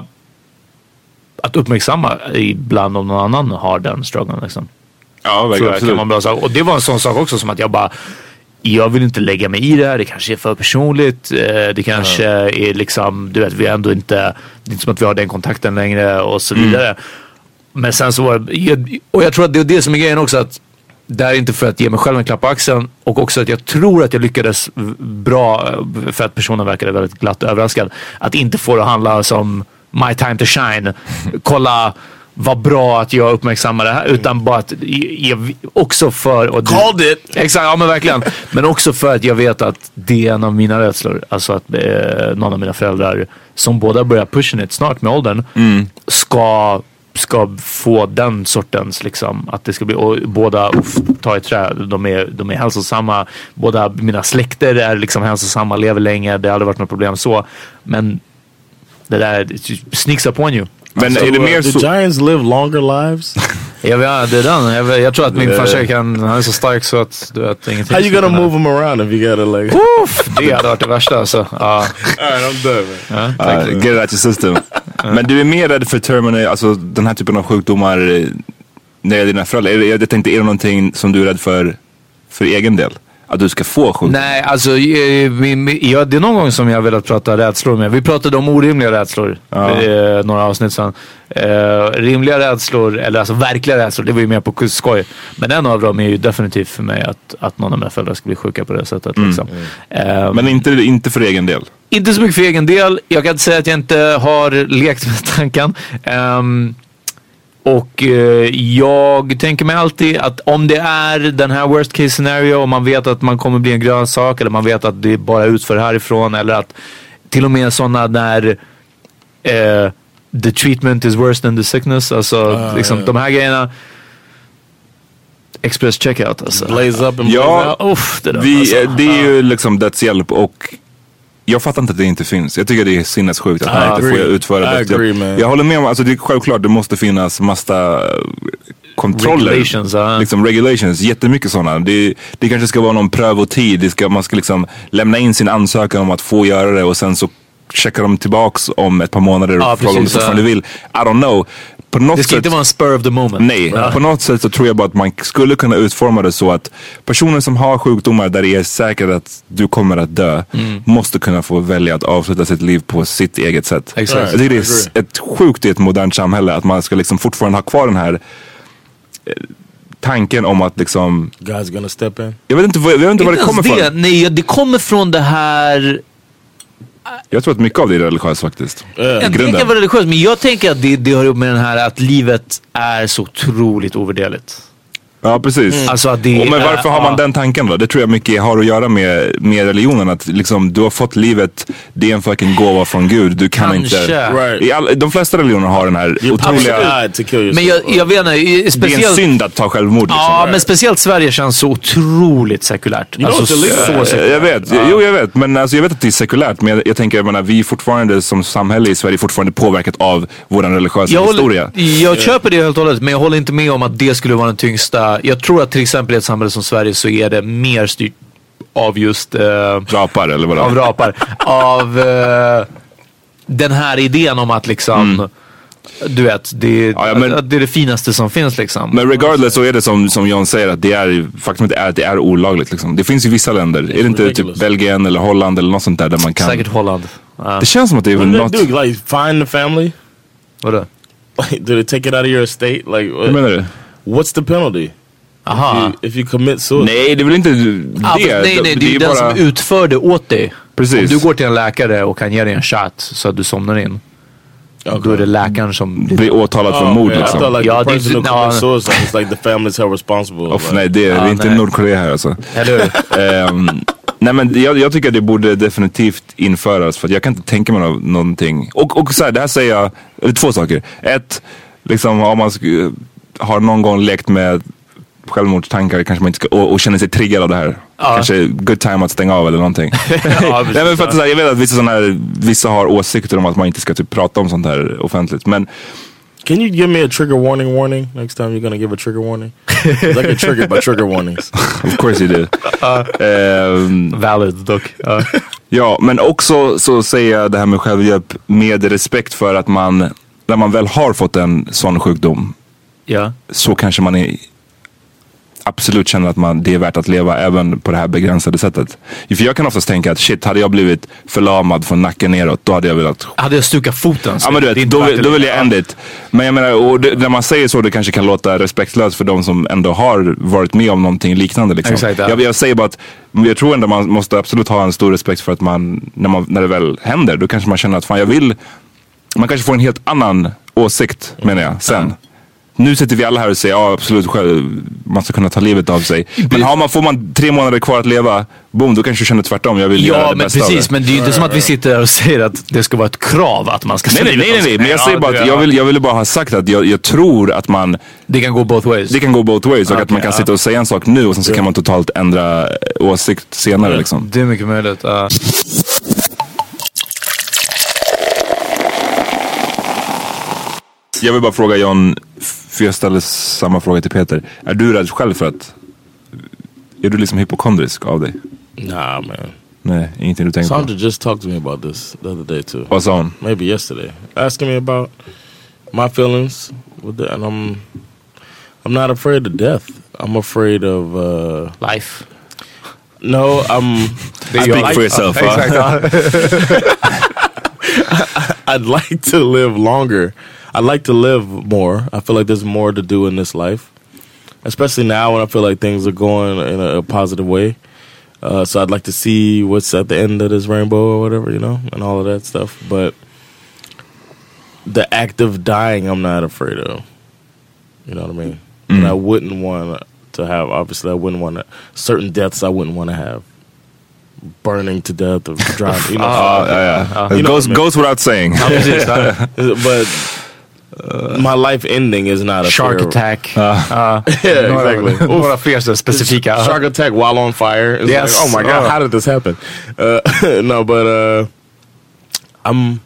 att uppmärksamma ibland om någon annan har den strugglen liksom. Ja, verkligen. Kan man bra säga. Och det var en sån sak också som att jag bara jag vill inte lägga mig i det här. Det kanske är för personligt. Det kanske mm. är liksom, du vet, vi är ändå inte, det är inte som att vi har den kontakten längre och så vidare. Mm. Men sen så var det, och jag tror att det är det som är grejen också, att det är inte för att ge mig själv en klapp på axeln, och också att jag tror att jag lyckades bra, för att personen verkade väldigt glatt överraskad, att inte få det att handla som my time to shine. Kolla vad bra att jag uppmärksammar det här, utan bara att jag, också för och called it. Exakt, ja men verkligen. Men också för att jag vet att det är en av mina rädslor, alltså att eh, någon av mina föräldrar som båda börjar pushing it snart med åldern mm. ska ska få den sortens liksom, att det ska bli, och båda uff, ta i trä, de är, de är hälsosamma, båda mina släkter är liksom hälsosamma, lever länge, det har aldrig varit något problem så, men det där sneaks up on you. Men so, är det mer uh, så... The Giants live longer lives? Ja, ja, det är den. Jag, jag tror att min farsa kan, han är så stark så att du vet ingenting. How you gonna move him around if you gotta like... Uff, det hade varit det värsta alltså. Uh. Alright, I'm done man. Ja, uh, get it out your system. Men du är mer rädd för terminal, alltså den här typen av sjukdomar när det är dina föräldrar. Jag, jag tänkte, är det någonting som du är rädd för för egen del? Att du ska få sjukdom? Nej, alltså ja, det är någon gång som jag har velat prata rädslor med. Vi pratade om orimliga rädslor ja. eh, några avsnitt sedan. Eh, rimliga rädslor, eller alltså verkliga rädslor, det var ju mer på skoj. Men en av dem är ju definitivt för mig att, att någon av mina föräldrar ska bli sjuka på det sättet. Mm. Liksom. Mm. Eh, Men inte, inte för egen del? Inte så mycket för egen del. Jag kan inte säga att jag inte har lekt med tanken. Um, Och eh, jag tänker mig alltid att om det är den här worst case scenario och man vet att man kommer bli en grönsak, eller man vet att det bara utför härifrån, eller att till och med sådana där eh, the treatment is worse than the sickness, alltså uh, liksom yeah. de här grejerna, express checkout alltså. Blaze up and ja, blaze Uff, det, där, vi, alltså. det är ju liksom dödshjälp, och jag fattar inte att det inte finns. Jag tycker det är sinnessjukt att man inte får utföra det. Jag, jag håller med om, alltså det är självklart det måste finnas massa kontroller. Regulations, uh. liksom regulations, jättemycket sådana. Det, det kanske ska vara någon prövotid. Det ska, man ska liksom lämna in sin ansökan om att få göra det, och sen så checkar de tillbaks om ett par månader och ah, frågar om du fortfarande vill. I don't know. På något det ska sätt, inte vara en spur of the moment. Nej, ja. På något sätt så tror jag bara att man skulle kunna utforma det så att personer som har sjukdomar där det är säkert att du kommer att dö mm. måste kunna få välja att avsluta sitt liv på sitt eget sätt. Exakt. Jag tycker det är ett sjukt i ett modernt samhälle att man ska liksom fortfarande ha kvar den här eh, tanken om att liksom God's gonna step in. Jag vet inte, jag vet inte var det kommer det. från. Nej, det kommer från det här. Jag tror att mycket av det är religiöst faktiskt. Uh, jag tänker vara religiöst, men jag tänker att det, det har upp med den här att livet är så otroligt ovärderligt. Ja, precis. Mm. Alltså att det och men varför är, har man ja. den tanken då? Det tror jag mycket har att göra med, med religionen. Att liksom, du har fått livet, det är en fucking gåva från Gud. Du kan Kanske. inte... Right. I all, de flesta religioner har den här You're otroliga... Men jag, jag vet inte, speciellt... Det är en synd att ta självmord. Liksom. Ja, right. Men speciellt Sverige känns så otroligt sekulärt. Alltså, så, så sekulärt. Jag vet, ja. Jo jag vet. Men alltså, jag vet att det är sekulärt. Men jag, jag tänker, jag menar, vi är fortfarande som samhälle i Sverige fortfarande påverkat av vår religiösa jag historia. Håller, jag yeah. köper det helt och hållet, men jag håller inte med om att det skulle vara den tyngsta. Jag tror att till exempel i ett samhälle som Sverige så är det mer styrt av just eh, rapar eller vad? Av rapar. av eh, den här idén om att liksom mm. du vet, det, ja, ja, men, att det är det finaste som finns liksom. Men regardless så är det som, som John säger, att det är faktum är att det är olagligt liksom. Det finns ju vissa länder, är det inte ridiculous. Typ Belgien eller Holland eller något sånt där där man kan. Säkert Holland. Uh. Det känns som att det är väl något. Do, like find the family? Vadå? Like, do they take it out of your estate? Like, vad menar du? What's the penalty? Aha. If you, if you commit suicide. Nej, det är väl inte det. Ah, nej, nej, det, det är ju den bara... som utför det åt dig. Precis. Om du går till en läkare och kan ge dig en shot så att du somnar in. Okay. Då är det läkaren som blir åtalad för oh, mord okay. liksom. I thought like ja, the person det, who commits no, suicide is like the family's held responsible. Off, like. Nej, det är, ah, det är inte Nordkorea här alltså. Eller um, Nej, men jag, jag tycker att det borde definitivt införas, för att jag kan inte tänka mig no- någonting. Och, och så här, det här säger jag, eller två saker. Ett, liksom om man sk- har någon gång lekt med självmordstankar kanske man inte ska, och, och känner sig triggad av det här. Ja. Kanske good time att stänga av eller någonting. Ja, Nej, men för att, så här, jag vet att vissa, såna här, vissa har åsikter om att man inte ska typ prata om sånt här offentligt. Men can you give me a trigger warning warning next time you're gonna give a trigger warning? I get triggered by trigger warnings. Of course you do. Uh, um, Valid dock. Uh. Ja, men också så säger jag det här med självhjälp med respekt för att man, när man väl har fått en sån sjukdom, ja. så kanske man är, absolut känner att man, det är värt att leva även på det här begränsade sättet. För jag kan oftast tänka att shit, hade jag blivit förlamad från nacken neråt, då hade jag velat... Hade jag stukat foten? Ja, men du vet, då, vill, då vill jag end it. Men jag menar, och det, när man säger så, det kanske kan låta respektlöst för de som ändå har varit med om någonting liknande liksom. Exakt, ja. jag, jag säger bara att jag tror ändå man måste absolut ha en stor respekt för att man, när, man, när det väl händer, då kanske man känner att fan, jag vill... Man kanske får en helt annan åsikt, menar jag, sen. Ja. Nu sitter vi alla här och säger ja, absolut själv, man ska kunna ta livet av sig. Men har man, får man tre månader kvar att leva, boom, då kanske du känner tvärtom. Jag vill ja, göra det men bästa precis, av det. Men det är ju inte som att vi sitter där och säger att det ska vara ett krav att man ska nej, nej, nej, nej, nej. Men jag säger bara att jag, vill, jag ville bara ha sagt att jag, jag tror att man... Det kan gå both ways. Det kan gå both ways. Och okay, att man kan ja. sitta och säga en sak nu och sen så kan man totalt ändra åsikt senare. Ja, liksom. Det är mycket möjligt. Uh. Jag vill bara fråga John, för jag ställer samma fråga till Peter. Är du rädd själv för att... Är du liksom hypokondrisk av dig? Nah, man. Nej, ingenting du tänker Sandra på. just talked to me about this the other day too. Vad sa hon? Maybe yesterday. Asking me about my feelings with the, and I'm I'm not afraid of death. I'm afraid of uh, life. No, I'm I speak like, for yourself. Uh, exactly. I'd like to live longer. I'd like to live more. I feel like there's more to do in this life, especially now when I feel like things are going in a, a positive way. Uh, so I'd like to see what's at the end of this rainbow or whatever, you know, and all of that stuff. But the act of dying, I'm not afraid of. You know what I mean? Mm. And I wouldn't want to have, obviously, I wouldn't want to, certain deaths I wouldn't want to have. Burning to death or drowning. You know, uh, yeah, yeah. Uh, it goes, I mean? goes without saying. But uh, my life ending is not a shark fear. attack. Uh, uh, yeah, exactly. Några fler så specifika. Shark attack while on fire. It's yes. Like, oh my god, oh. How did this happen? Uh, no, but uh, I'm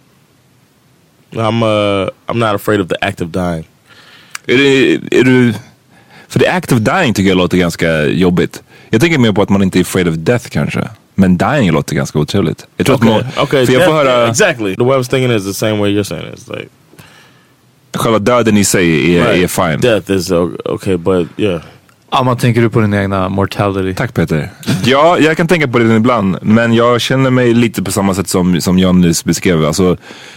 I'm uh, I'm not afraid of the act of dying. Är det, är du, för the act of dying tycker jag låter ganska jobbigt. Jag tänker mer på att man inte är afraid of death kanske. Men dying låter ganska otroligt. Jag tror okay. att man, okay, för jag får höra, exactly. The way I was thinking is the same way you're saying it. It's like själva döden i sig är, right. är fine. Death is okay, but yeah. Ja, man tänker du på din egna mortality. Tack Peter. Ja, jag kan tänka på det ibland. Men jag känner mig lite på samma sätt som, som John nyss beskrev. Alltså,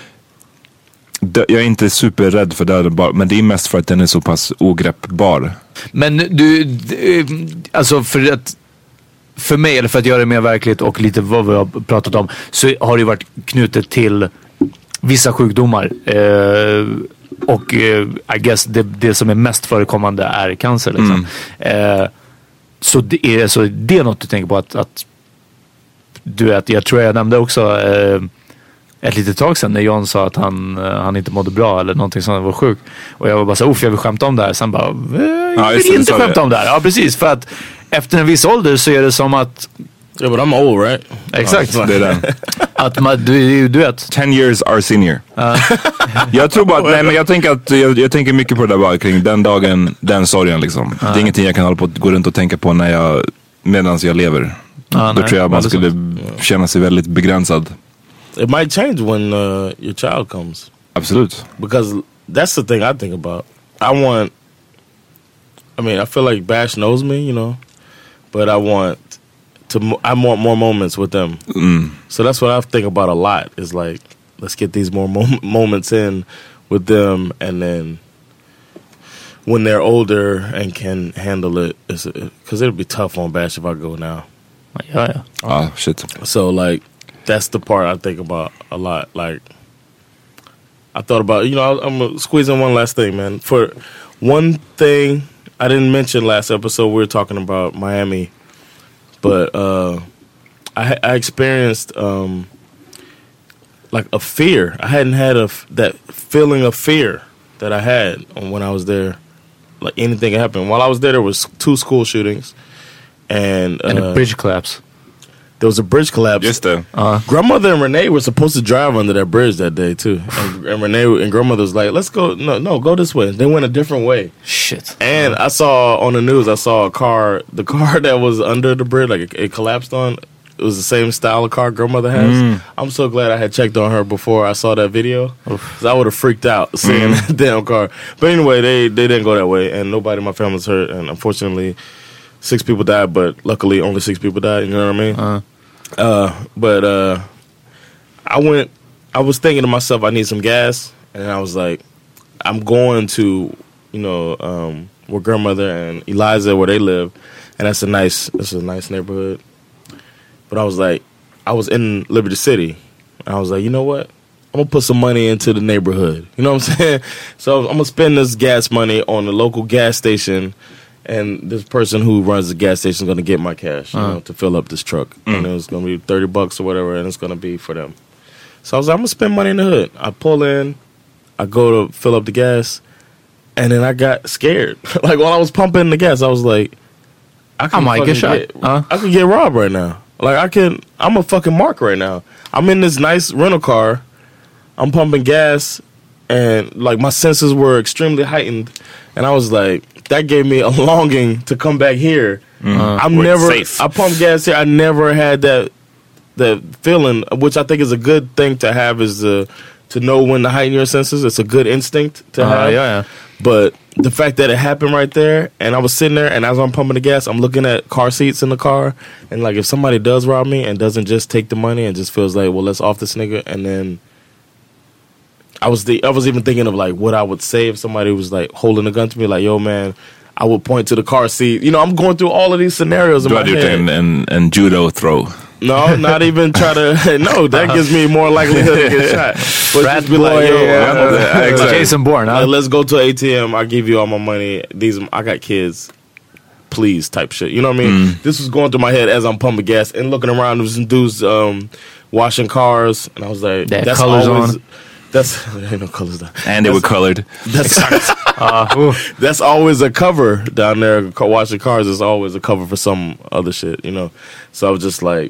dö, jag är inte superrädd för döden bara, men det är mest för att den är så pass ogreppbar. Men du, du alltså för att för mig, eller för att göra det mer verkligt och lite vad vi har pratat om, så har det varit knutet till vissa sjukdomar. Eh, och eh, I guess det, det som är mest förekommande är cancer. Liksom. Mm. Eh, så, det är, så det är något du tänker på att, att du vet, jag tror jag nämnde också eh, ett litet tag sedan när John sa att han, han inte mådde bra eller någonting som var sjuk. Och jag var bara så uff, jag vill skämta om det här. Sen bara, eh, jag vill ja, inte skämta det. om det här. Ja, precis. För att efter en viss ålder så är det som att... Ja, but I'm old, right? Exakt. Det är den. Att man, du, du vet. Ten years our senior. Uh. Jag tror bara att, nej men jag tänker att, jag, jag tänker mycket på det där bara kring den dagen, den sorgen liksom. Uh. Det är ingenting jag kan hålla på att gå runt och tänka på när jag, medan jag lever. Uh, Då nej, tror jag man skulle så. känna sig väldigt begränsad. It might change when uh, your child comes. Absolut. Because that's the thing I think about. I want, I mean, I feel like Bash knows me, you know, but I want to, I want more moments with them. Mm. So that's what I think about a lot. Is like, let's get these more mom- moments in with them, and then when they're older and can handle it, because it'll be tough on Bash if I go now. Yeah, yeah. Oh shit. So like, that's the part I think about a lot. Like, I thought about, you know, I'm gonna squeeze in one last thing, man. For one thing I didn't mention last episode, we were talking about Miami, but uh, I, I experienced um, like a fear. I hadn't had a f- that feeling of fear that I had when I was there. Like anything happened while I was there. There was two school shootings, and uh, and a bridge collapse. There was a bridge collapse. Just the uh, grandmother and Renee were supposed to drive under that bridge that day too, and, and Renee and grandmother was like, "Let's go, no, no, go this way." They went a different way. Shit. And I saw on the news, I saw a car, the car that was under the bridge, like it, it collapsed on. It was the same style of car grandmother has. Mm. I'm so glad I had checked on her before I saw that video, because I would have freaked out seeing Mm. that damn car. But anyway, they they didn't go that way, and nobody in my family was hurt, and unfortunately, six people died. But luckily, only six people died. You know what I mean? Uh. Uh, but uh, I went. I was thinking to myself, I need some gas, and I was like, I'm going to, you know, um, where grandmother and Eliza, where they live, and that's a nice, that's a nice neighborhood. But I was like, I was in Liberty City, and I was like, you know what? I'm gonna put some money into the neighborhood. You know what I'm saying? So I'm gonna spend this gas money on the local gas station. And this person who runs the gas station is going to get my cash, you Uh. know, to fill up this truck. Mm. And it was going to be thirty bucks or whatever, and it's going to be for them. So I was like, I'm going to spend money in the hood. I pull in, I go to fill up the gas, and then I got scared. Like, while I was pumping the gas, I was like, I, I might get shot. Get, Uh. I could get robbed right now. Like, I can, I'm a fucking mark right now. I'm in this nice rental car. I'm pumping gas, and, like, my senses were extremely heightened. And I was like, that gave me a longing to come back here. Mm. I'm Where it's never, safe. I pump gas here. I never had that that feeling, which I think is a good thing to have, is the, to know when to heighten your senses. It's a good instinct to Uh, have. yeah, yeah. But the fact that it happened right there, and I was sitting there, and as I'm pumping the gas, I'm looking at car seats in the car, and like if somebody does rob me and doesn't just take the money and just feels like, well, let's off this nigga, and then I was the I was even thinking of like what I would say if somebody was like holding a gun to me, like, yo man, I would point to the car seat. You know, I'm going through all of these scenarios in Du my hade gjort head. en, en, en judo throw. No, not even try to. No, that gives me more likelihood to get shot. But Rat just be boy, like, yo, yeah, I'm a- yeah, like, Jason Bourne, huh? like, let's go to A T M. I'll give you all my money. These, I got kids. Please, type shit. You know what I mean? Mm. This was going through my head as I'm pumping gas and looking around. There was some dudes um, washing cars, and I was like, They had "That's colors always." on. That's there ain't no colors down. And they were colored. That's Uh, ooh. that's always a cover down there. ca- Washing cars is always a cover for some other shit, you know. So I was just like,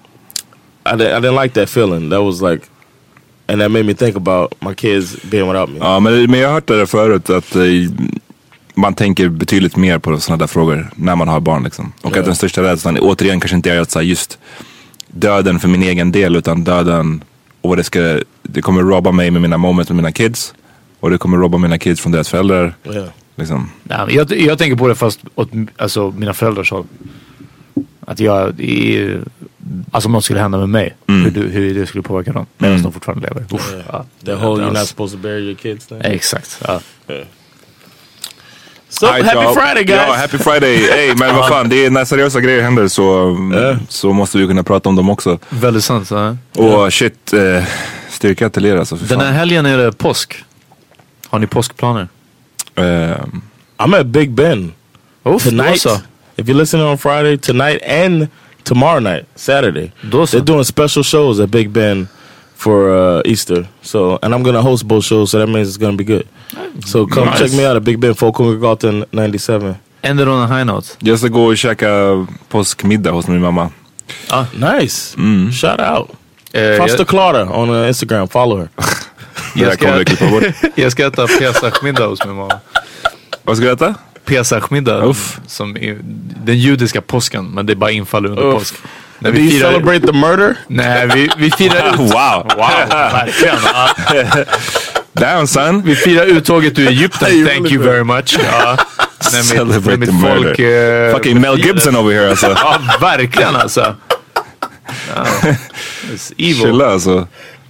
I didn't, I didn't like that feeling. That was like, and that made me think about my kids being without me. Ja, men, men jag har hört det där förut att eh, man tänker betydligt mer på sådana där frågor när man har barn liksom. Och Ja. att den största rädslan återigen kanske inte är att så här, just döden för min egen del, utan döden och vad det ska, det kommer robba mig med mina moments med mina kids, och det kommer robba mina kids från deras föräldrar. Ja. Liksom. Nej, men jag, jag tänker på det fast åt alltså, mina föräldrars håll. Att jag, i, alltså om något skulle hända med mig, Mm. hur, du- hur det skulle påverka dem medan Mm. de fortfarande lever. Uff, ja. The whole you're Alltså, not supposed to bury your kids thing. Exakt. Ja. So Right, happy ja. Friday, guys! Ja, happy Friday. Hey, men vad fan, det är när seriösa grejer händer så, Ja. så måste vi kunna prata om dem också. Väldigt sant. Ja. Och shit, eh, styrka till er alltså. För Den fan. här helgen är det påsk. Har ni påskplaner? Eh, I'm at Big Ben Uff, tonight. då så. If you're listening on Friday, tonight and tomorrow night, Saturday, Då så. they're doing special shows at Big Ben for uh, Easter. So, and I'm gonna host both shows, so that means it's gonna be good. So come Nice. check me out at Big Ben, Folkungagatan ninety-seven. Ended on a high note. jag ska gå och käka påskmiddag hos min mamma. Ah. Nice. Mm. Shout out. Eh, Foster jag, Clara on uh, Instagram. Follow her. Det där jag, kommer vi ska, klippa bort. jag ska äta pesachmiddag hos min mamma. Vad ska du äta? Pesachmiddag. Uff. Som är den judiska påsken, men det bara infaller under Uff. påsk. När Do you firar- celebrate the murder? Nej, vi, vi firar ut... Wow. Wow, verkligen. Ja. Damn son. Vi firar uttåget ur Egypten, You thank really you do. very much. Ja. När mitt, Celebrate när mitt the murder. folk... eh, Fucking Mel Gibson over here alltså. Ja, verkligen alltså. Ja. It's evil. Chilla alltså.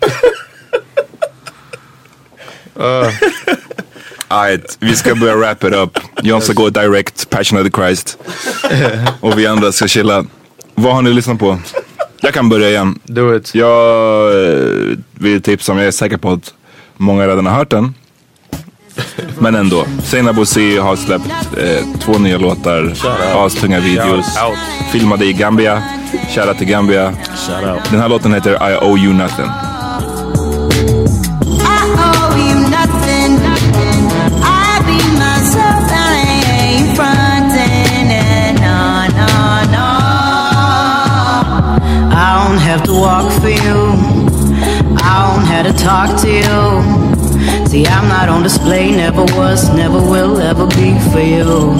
Alright, vi ska börja wrap it up. Jag ska gå direct, Passion of the Christ. Och vi andra ska chilla. Vad har ni lyssnat på? Jag kan börja igen. Do it. Jag eh, vill tipsa om, jag är säker på att många redan har hört den. Men ändå. Seinabo Bosi har släppt eh, två nya låtar, astunga videos. Shout out. Filmade i Gambia. Shoutout till Gambia. Shoutout. Den här låten heter I Owe You Nothing. I don't have to walk for you. I don't have to talk to you. See, I'm not on display, never was, never will, ever be for you.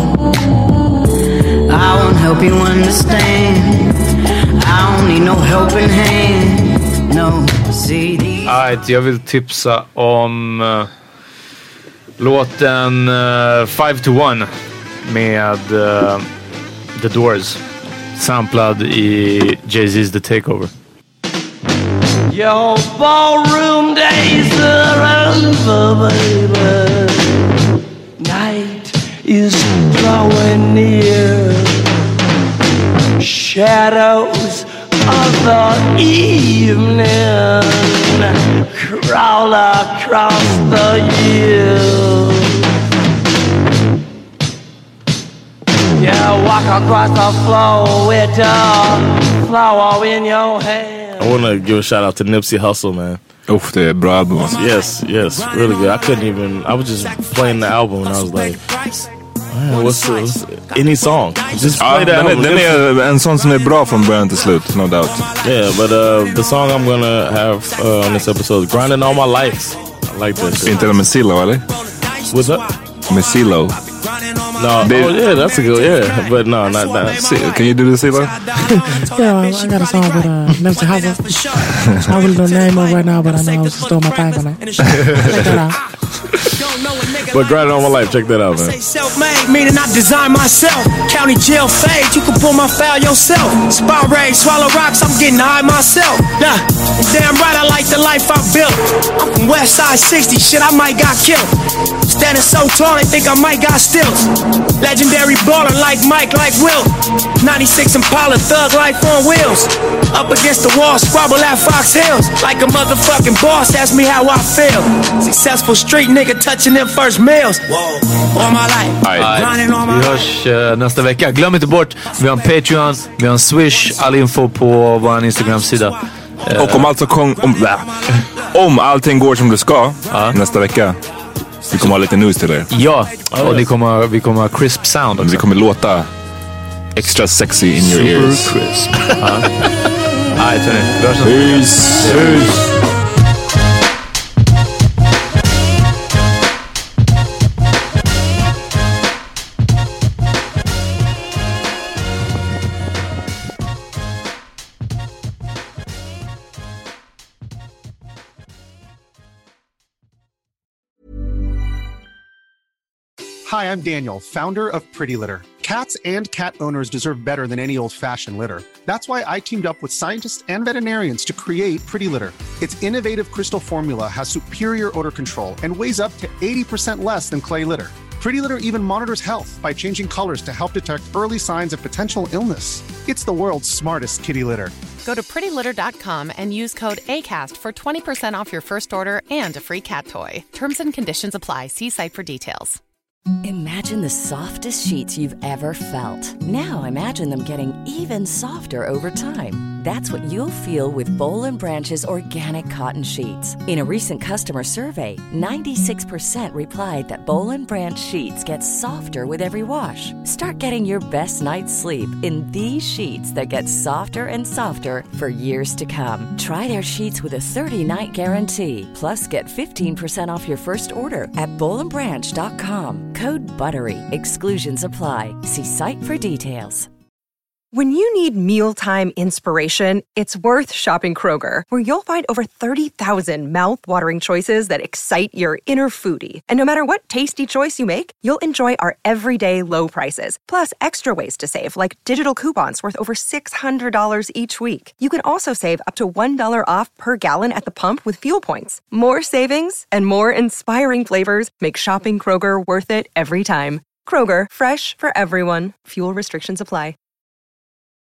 I won't help you understand. I don't need no helping hand. No, see these... Alright, jag vill tipsa om uh, låten uh, five to one med uh, The Doors. Samplad i Jay-Z's The Takeover. Your ballroom days are over, baby. Night is drawing near. Shadows of the evening crawl across the years. Yeah, walk across the floor with a flower in your hand. I want to give a shout out to Nipsey Hussle, man. Oof, det är bra album. Yes, yes, really good. I couldn't even, I was just playing the album and I was like, man, what's, what's any song? Just play ah, the album. Den är en sån som är bra från början till slut, no doubt. Yeah, but uh, the song I'm gonna have uh, on this episode is Grinding All My Life. I like this. Inte det med Silo, eller? What's that? Med Silo. No, they, oh yeah, that's a good, yeah, but no, not that. Can you do the Silo? Yeah, I got a song with uh, Nipsey Hussle. I really don't name it right now, but I know I was just doing my thing on it. Check that out. But Grinding All My Life, check that out, man. Self-made, meaning I design myself. County jail fade, you can pull my file yourself. Spot rage, swallow rocks, I'm getting high myself. Nah, damn right I like the life I built. I'm from West Side sixty, shit I might got killed. Standing so tall, they think I might got stills. Legendary baller like Mike, like Will. ninety-six Impala, thug life on wheels. Up against the wall, squabble at Fox Hills. Like a motherfucking boss, ask me how I feel. Successful street nigga touching them first meals. All my life. Right. Vi hörs uh, nästa vecka. Glöm inte bort, vi har en Patreon, vi har en Swish, all info på vår Instagram-sida. Uh, och om, alltså kom, om, om allting går som det ska uh. nästa vecka, vi kommer ha lite news till er. Ja, och ni kommer, vi kommer ha crisp sound också. Vi kommer låta extra sexy in your ears. Super crisp. Alright, hörni. Peace. Peace. Hi, I'm Daniel, founder of Pretty Litter. Cats and cat owners deserve better than any old-fashioned litter. That's why I teamed up with scientists and veterinarians to create Pretty Litter. Its innovative crystal formula has superior odor control and weighs up to eighty percent less than clay litter. Pretty Litter even monitors health by changing colors to help detect early signs of potential illness. It's the world's smartest kitty litter. Go to pretty litter dot com and use code ACAST for twenty percent off your first order and a free cat toy. Terms and conditions apply. See site for details. Imagine the softest sheets you've ever felt. Now imagine them getting even softer over time. That's what you'll feel with Boll and Branch's organic cotton sheets. In a recent customer survey, ninety-six percent replied that Boll and Branch sheets get softer with every wash. Start getting your best night's sleep in these sheets that get softer and softer for years to come. Try their sheets with a thirty-night guarantee. Plus, get fifteen percent off your first order at boll and branch dot com. Code BUTTERY. Exclusions apply. See site for details. When you need mealtime inspiration, it's worth shopping Kroger, where you'll find over thirty thousand mouth-watering choices that excite your inner foodie. And no matter what tasty choice you make, you'll enjoy our everyday low prices, plus extra ways to save, like digital coupons worth over six hundred dollars each week. You can also save up to one dollar off per gallon at the pump with fuel points. More savings and more inspiring flavors make shopping Kroger worth it every time. Kroger, fresh for everyone. Fuel restrictions apply.